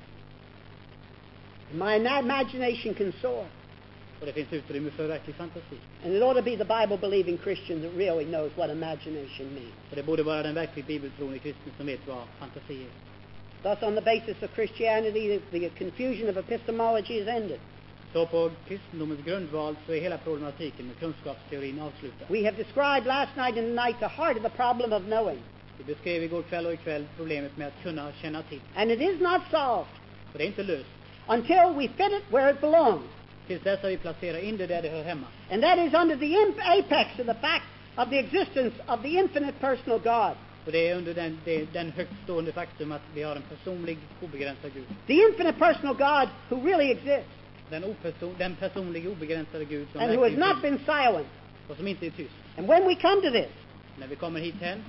My na- imagination can soar. Och det finns utrymme för verklig fantasi. And it ought to be the Bible-believing Christian that really knows what imagination means. Och det borde vara den verkligt bibeltroende kristne som vet vad fantasi är. Thus, on the basis of Christianity, the, the confusion of epistemology is ended. Så på kristendomens grundval så är hela problematiken med kunskapsteorin avslutad. We have described last night and tonight the heart of the problem of knowing. Vi beskrev igår kväll och ikväll problemet med att kunna känna till. And it is not solved Och det är inte löst. until we fit it where it belongs. Tills dess att vi placerar in det där det hör hemma. And that is under the imp- apex of the fact of the existence of the infinite personal God. Och det är under den, det, den högt stående faktum att vi har en personlig, obegränsad Gud. The infinite personal God who really exists Den, operson, den personliga, obegränsade Gud som and who has verkligen not finns been silent. och som inte är tyst. And when we come to this, När vi kommer hit hem,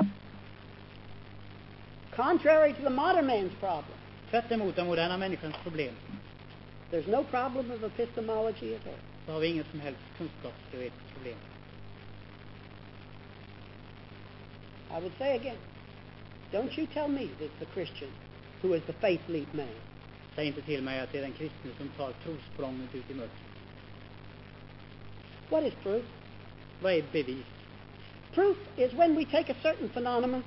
contrary to the modern man's problem, tvärt emot den moderna människans problem, there's no problem of epistemology at all. så har vi inget som helst kunskapsteoretiskt problem. I would say again, don't you tell me that it's the Christian who is the faith leap man. Säg inte till mig att det är den kristne som tar trosprånget ut i mörkret. What is proof? Vad är bevis? Proof is when we take a certain phenomenon,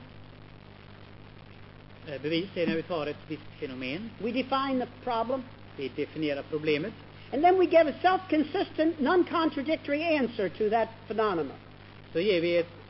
Eh, Bevis är när vi tar ett visst fenomen, we define the problem, vi definierar problemet, and then we give a self-consistent, non-contradictory answer to that phenomenon. så ger vi ett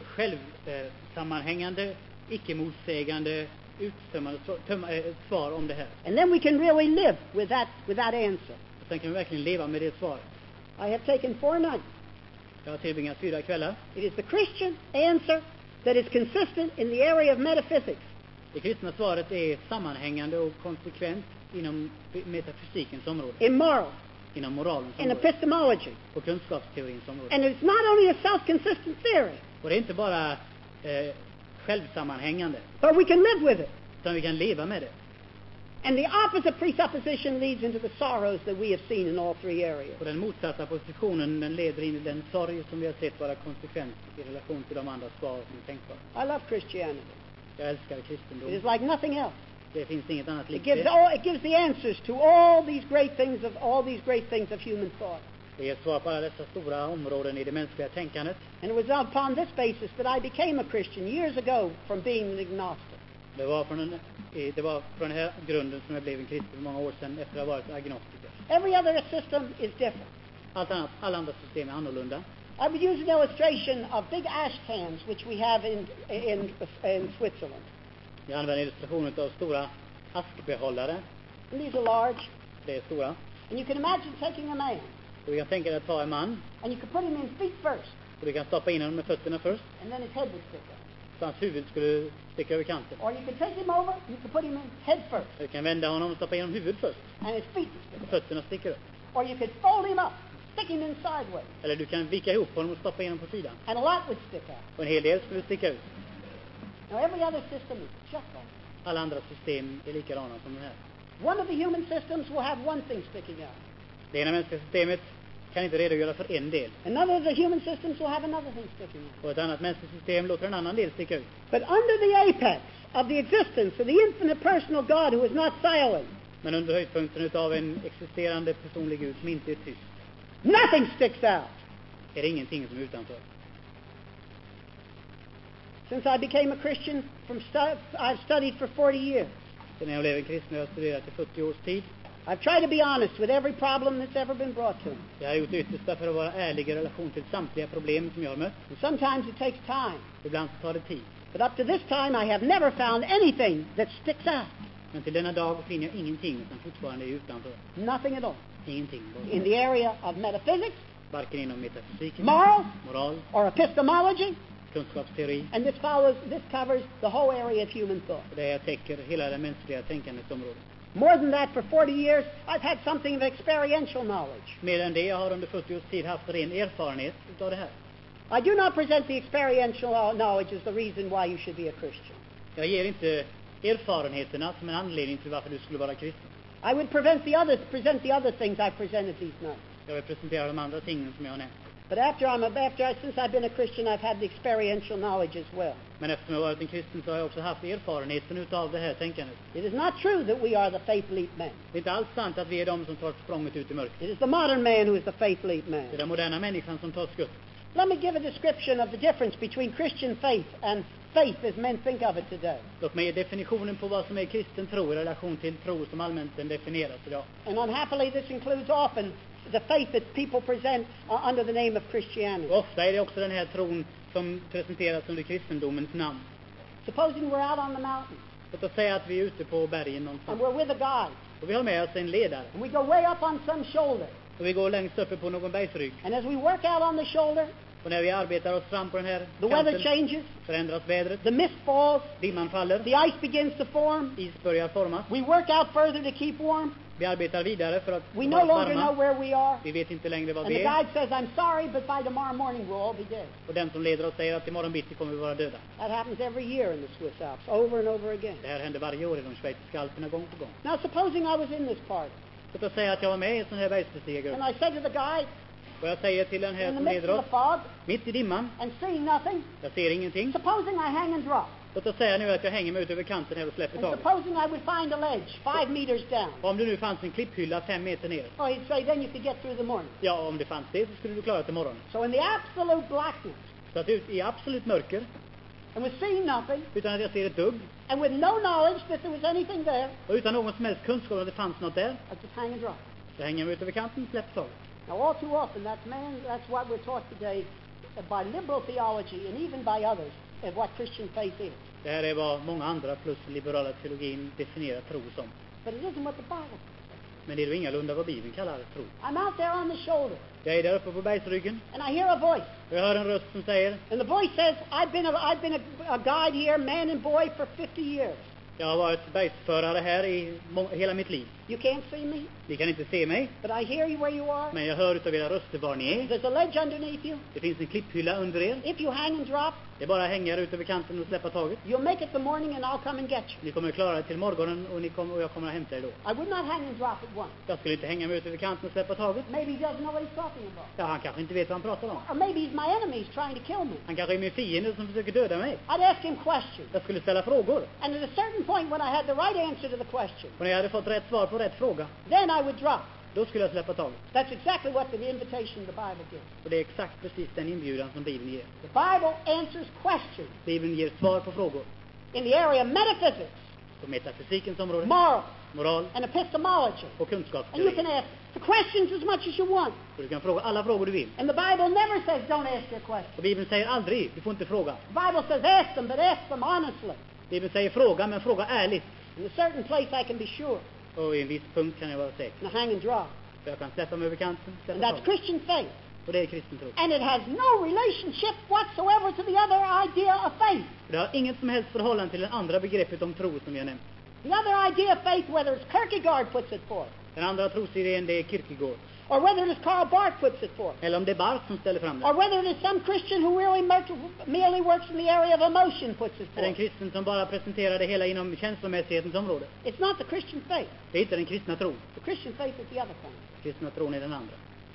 självsammanhängande, icke-motsägande, uttömmande svar- töm- eh, svar om det här. And then we can really live with that, with that answer. Och sen kan vi verkligen leva med det svaret. I have taken four nights. Jag har tillbringat fyra kvällar. It is the Christian answer that is consistent in the area of metaphysics. Det kristna svaret är sammanhängande och konsekvent inom metafysikens område, In moral, inom moralens in område epistemology. och kunskapsteorins område. And it's not only a self-consistent theory, Och det är inte bara eh, självsammanhängande, but we can live with it. utan vi kan leva med det. And the opposite presupposition leads into the sorrows that we have seen in all three areas. Och den motsatta positionen, den leder in i den sorg som vi har sett vara konsekvent i relation till de andra svar som är tänkbara. I love Christianity. Jag älskar It kristendom. is like nothing else. Det finns inget annat It likt gives det. all, it gives the answers to all these great things of all these great things of human thought. Det ger svar på alla dessa stora områden i det mänskliga tänkandet. And it was upon this basis that I became a Christian years ago from being an agnostic. Det var från den, eh, det var från den här grunden som jag blev en kristen för många år sedan efter att ha varit agnostiker. Every other system is different. Allt annat, alla andra system är annorlunda. I would use an illustration of big ash cans which we have in, in, in Switzerland. Jag använder illustrationen av stora askbehållare. And these are large. Det är stora. And you can imagine taking a man, Och vi kan tänka dig att ta en man and you could put him in feet first, och du kan stoppa in honom med fötterna först. and then his head would stick out. Så hans huvud skulle sticka över kanten. Or you could take him over, you could put him in head first, Du kan vända honom och stoppa in honom huvud först. and his feet would stick Och out. fötterna sticker upp. Or you could fold him up, stick him in sideways, Eller du kan vika ihop honom och stoppa in honom på sidan. and a lot would stick out. Och en hel del skulle sticka ut. Now every other system is just like that. Alla andra system är likadana som den här. One of the human systems will have one thing sticking out. Det ena mänskliga systemet kan inte redogöra för en del. Another of the human systems will have another thing sticking out. Och ett annat mänskligt system låter en annan del sticka ut. But under the apex of the existence of the infinite personal God who is not silent, Men under höjdpunkten utav en existerande personlig Gud som inte är tyst, nothing sticks out. är det ingenting som är utanför. Since I became a Christian, from stu- I've studied for forty years. Sen jag blev en kristen har jag studerat i fyrtio års tid. I've tried to be honest with every problem that's ever been brought to me. Jag har gjort det yttersta för att vara ärlig i relation till samtliga problem som jag har mött. And sometimes it takes time. Ibland så tar det tid. But up to this time, I have never found anything that sticks out. Men till denna dag finner jag ingenting som fortfarande är utanför. Nothing at all. Ingenting. In the area of metaphysics, Varken inom metafysiken, moral, moral, or epistemology, kunskapsteori. and this follows, this covers the whole area of human thought. Och det här täcker hela det mänskliga tänkandets område. More than that, for forty years, I've had something of experiential knowledge. Mer än det, jag har under fyrtio års tid haft ren erfarenhet utav det här. I do not present the experiential knowledge as the reason why you should be a Christian. Jag ger inte erfarenheterna som en anledning till varför du skulle vara kristen. I would prevent the others, present the other things I presented these nights. Jag vill presentera de andra tingen som jag har nämnt. But after I'm a, after I, since I've been a Christian, I've had the experiential knowledge as well. Men eftersom jag har varit en kristen så har jag också haft erfarenheten utav det här tänkandet. It is not true that we are the faith leap men. Det är inte alls sant att vi är de som tar språnget ut i mörkret. It is the modern man who is the faith leap man. Det är den moderna människan som tar skutt. Let me give a description of the difference between Christian faith and faith as men think of it today. Låt mig ge definitionen på vad som är kristen tro i relation till tro som allmänt den definieras idag. And unhappily, this includes often the faith that people present uh, under the name of Christianity. Och ofta är det också den här tron som presenteras under kristendomens namn. Supposing we're out on the mountain Låt oss säga att vi är ute på bergen and någonstans. we're with a guide, Och vi har med oss en ledare. and we go way up on some shoulder. Och vi går längst uppe på någon bergsrygg. And as we work out on the shoulder, Och när vi arbetar oss fram på den här the weather kanten changes, förändras vädret. the mist falls, Dimman faller. the ice begins to form. Is börjar formas. We work out further to keep warm. Vi arbetar vidare för att We no vara longer know varma. where we are. Vi vet inte längre var And the vi är. guide says, I'm sorry, but by tomorrow morning we'll all be dead. Och den som leder oss säger att imorgon bitti kommer vi vara döda. That happens every year in the Swiss Alps, over and over again. Det här händer varje år i de schweiziska alperna gång på gång. Now, supposing I was in this party, Låt oss säga att jag var med i en sån här bergsbestigargrupp. and I said to the guide, Och jag säger till den här in the som midst leder of oss, the fog, mitt i dimman, and seeing nothing, jag ser ingenting. supposing I hang and drop, Låt oss säga nu att jag hänger mig ut över kanten här och släpper and taget. supposing I would find a ledge five meters down. Om det nu fanns en klipphylla fem meter ner. Oh, he'd say, then you could get through the morning. Ja, om det fanns det så skulle du klara till morgonen. So in the absolute blackness, Så att ut i absolut mörker, and with seeing nothing, utan att jag ser ett dugg, and with no knowledge that there was anything there, och utan någon som helst kunskap om att det fanns något där, I just hang and drop. så hänger jag mig ut över kanten och släpper taget. Now, all too often, that's man. That's what we're taught today uh, by liberal theology and even by others of what Christian faith is. Det här är vad många andra plus liberala teologin definierar tro som. But it isn't what the Bible says. Men det är ju ingalunda vad Bibeln kallar tro. I'm out there on the shoulder, Jag är där uppe på bergsryggen and I hear a voice, och jag hör en röst som säger, and the voice says, "I've been a, I've been a, a guide here, man and boy, for fifty years. jag har varit bergsförare här i må- hela mitt liv. You can't see me, Ni kan inte se mig, but I hear you where you are. men jag hör utav era röster var ni är. There's a ledge underneath you. Det finns en klipphylla under er. If you hang and drop, Det är bara att hänga ut över kanten och släppa taget. you'll make it the morning, and I'll come and get you." Ni kommer att klara det till morgonen och, ni kommer, och jag kommer att hämta er då. I would not hang and drop at once. Jag skulle inte hänga mig ut över kanten och släppa taget. Maybe he doesn't know what he's talking about. Ja, han kanske inte vet vad han pratar om. Or maybe he's my enemy, he's trying to kill me. Han kanske är min fiende som försöker döda mig. I'd ask him questions. Jag skulle ställa frågor. And at a certain point, when I had the right answer to the question, Och när jag hade fått rätt svar på rätt fråga, then I would drop. då skulle jag släppa taget. That's exactly what the invitation the Bible gives. Och det är exakt precis den inbjudan som Bibeln ger. The Bible answers questions Bibeln ger svar på frågor. in the area of metaphysics, På metafysikens område, moral, moral and epistemology. och And you kunskapsteori. can ask the questions as much as you want. Och du kan fråga alla frågor du vill. And the Bible never says don't ask your questions. Och Bibeln säger aldrig, du får inte fråga. The Bible says ask them, but ask them honestly. Bibeln säger fråga, men fråga ärligt. In a certain place I can be sure. Och i en viss punkt kan jag vara säker. And hang and drop. För jag kan släppa mig över kanten, And släppa that's taget. Christian faith. Och det är kristen tro. And it has no relationship whatsoever to the other idea of faith. Det har inget som helst förhållande till det andra begreppet om tro som vi har nämnt. The other idea of faith, whether it's Kierkegaard puts it forth, Den andra trosidén, det är Kierkegaard. or whether it is Karl Barth puts it forth, Eller om det är Barth som ställer fram or det. whether it is some Christian who really mer- merely works in the area of emotion puts it Är det en forth. kristen som bara presenterar det hela inom känslomässighetens område? It's not the Christian faith. Det är inte den kristna tron. The Christian faith is the other kind. Kristna tron är den andra.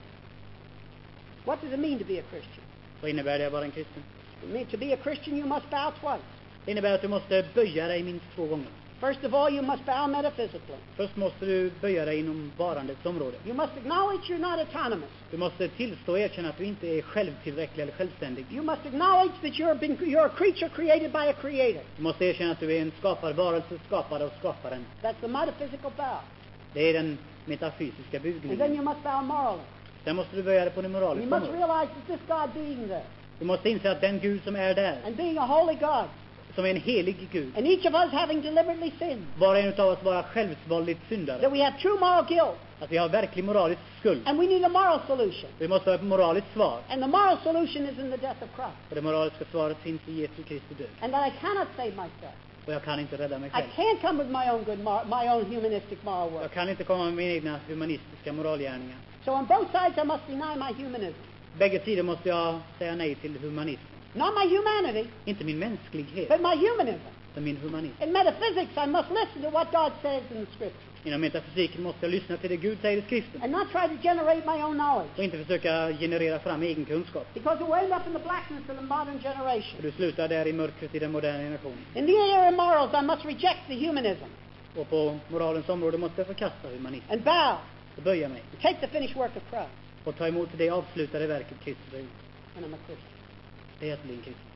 What does it mean to be a Christian? Vad innebär det att vara en kristen? It means to be a Christian you must bow twice. Det innebär att du måste böja dig minst två gånger. First of all, you must bow metaphysically. Först måste du böja dig inom varandets område. You must acknowledge you're not autonomous. Du måste tillstå och erkänna att du inte är självtillräcklig eller självständig. You must acknowledge that you're, been, you're a creature created by a creator. Du måste erkänna att du är en skapad varelse, skapad av skaparen. That's the metaphysical bow. Det är den metafysiska And then bugningen. you must bow morally. Sen måste du böja dig på det You moraliska must området. realize that this God being there, Du måste inse att den Gud som är där, and being a holy God, som är en helig Gud, and each of us having deliberately sinned, var en av oss vara självsvåldigt syndare. that we have true moral guilt, Att vi har verklig moralisk skuld. and we need a moral solution. Vi måste ha ett moraliskt svar. And the moral solution is in the death of Christ. Och det moraliska svaret finns i Jesu Kristi död. And that I cannot save myself. Och jag kan inte rädda mig I själv. can't come with my own good, mor- my own humanistic moral work. Jag kan inte komma med mina egna humanistiska moralgärningar. So on both sides I must deny my humanism. Bägge sidor måste jag säga nej till humanism. Not my humanity, Inte min mänsklighet, but my humanism. utan min humanism. In metaphysics, I must listen to what God says in the Scripture, Inom metafysiken måste jag lyssna till det Gud säger i skriften. and not try to generate my own knowledge, Och inte försöka generera fram egen kunskap. because it will end up in the blackness of the modern För generation. du slutar där i mörkret i den moderna generationen. In the area of morals, I must reject the humanism Och på moralens område måste jag förkasta humanism. and bow Och böja mig. and take the finished work of Christ. Och ta emot det avslutade verket Kristus har gjort. And I'm a Christian. Det är att bli en kristen.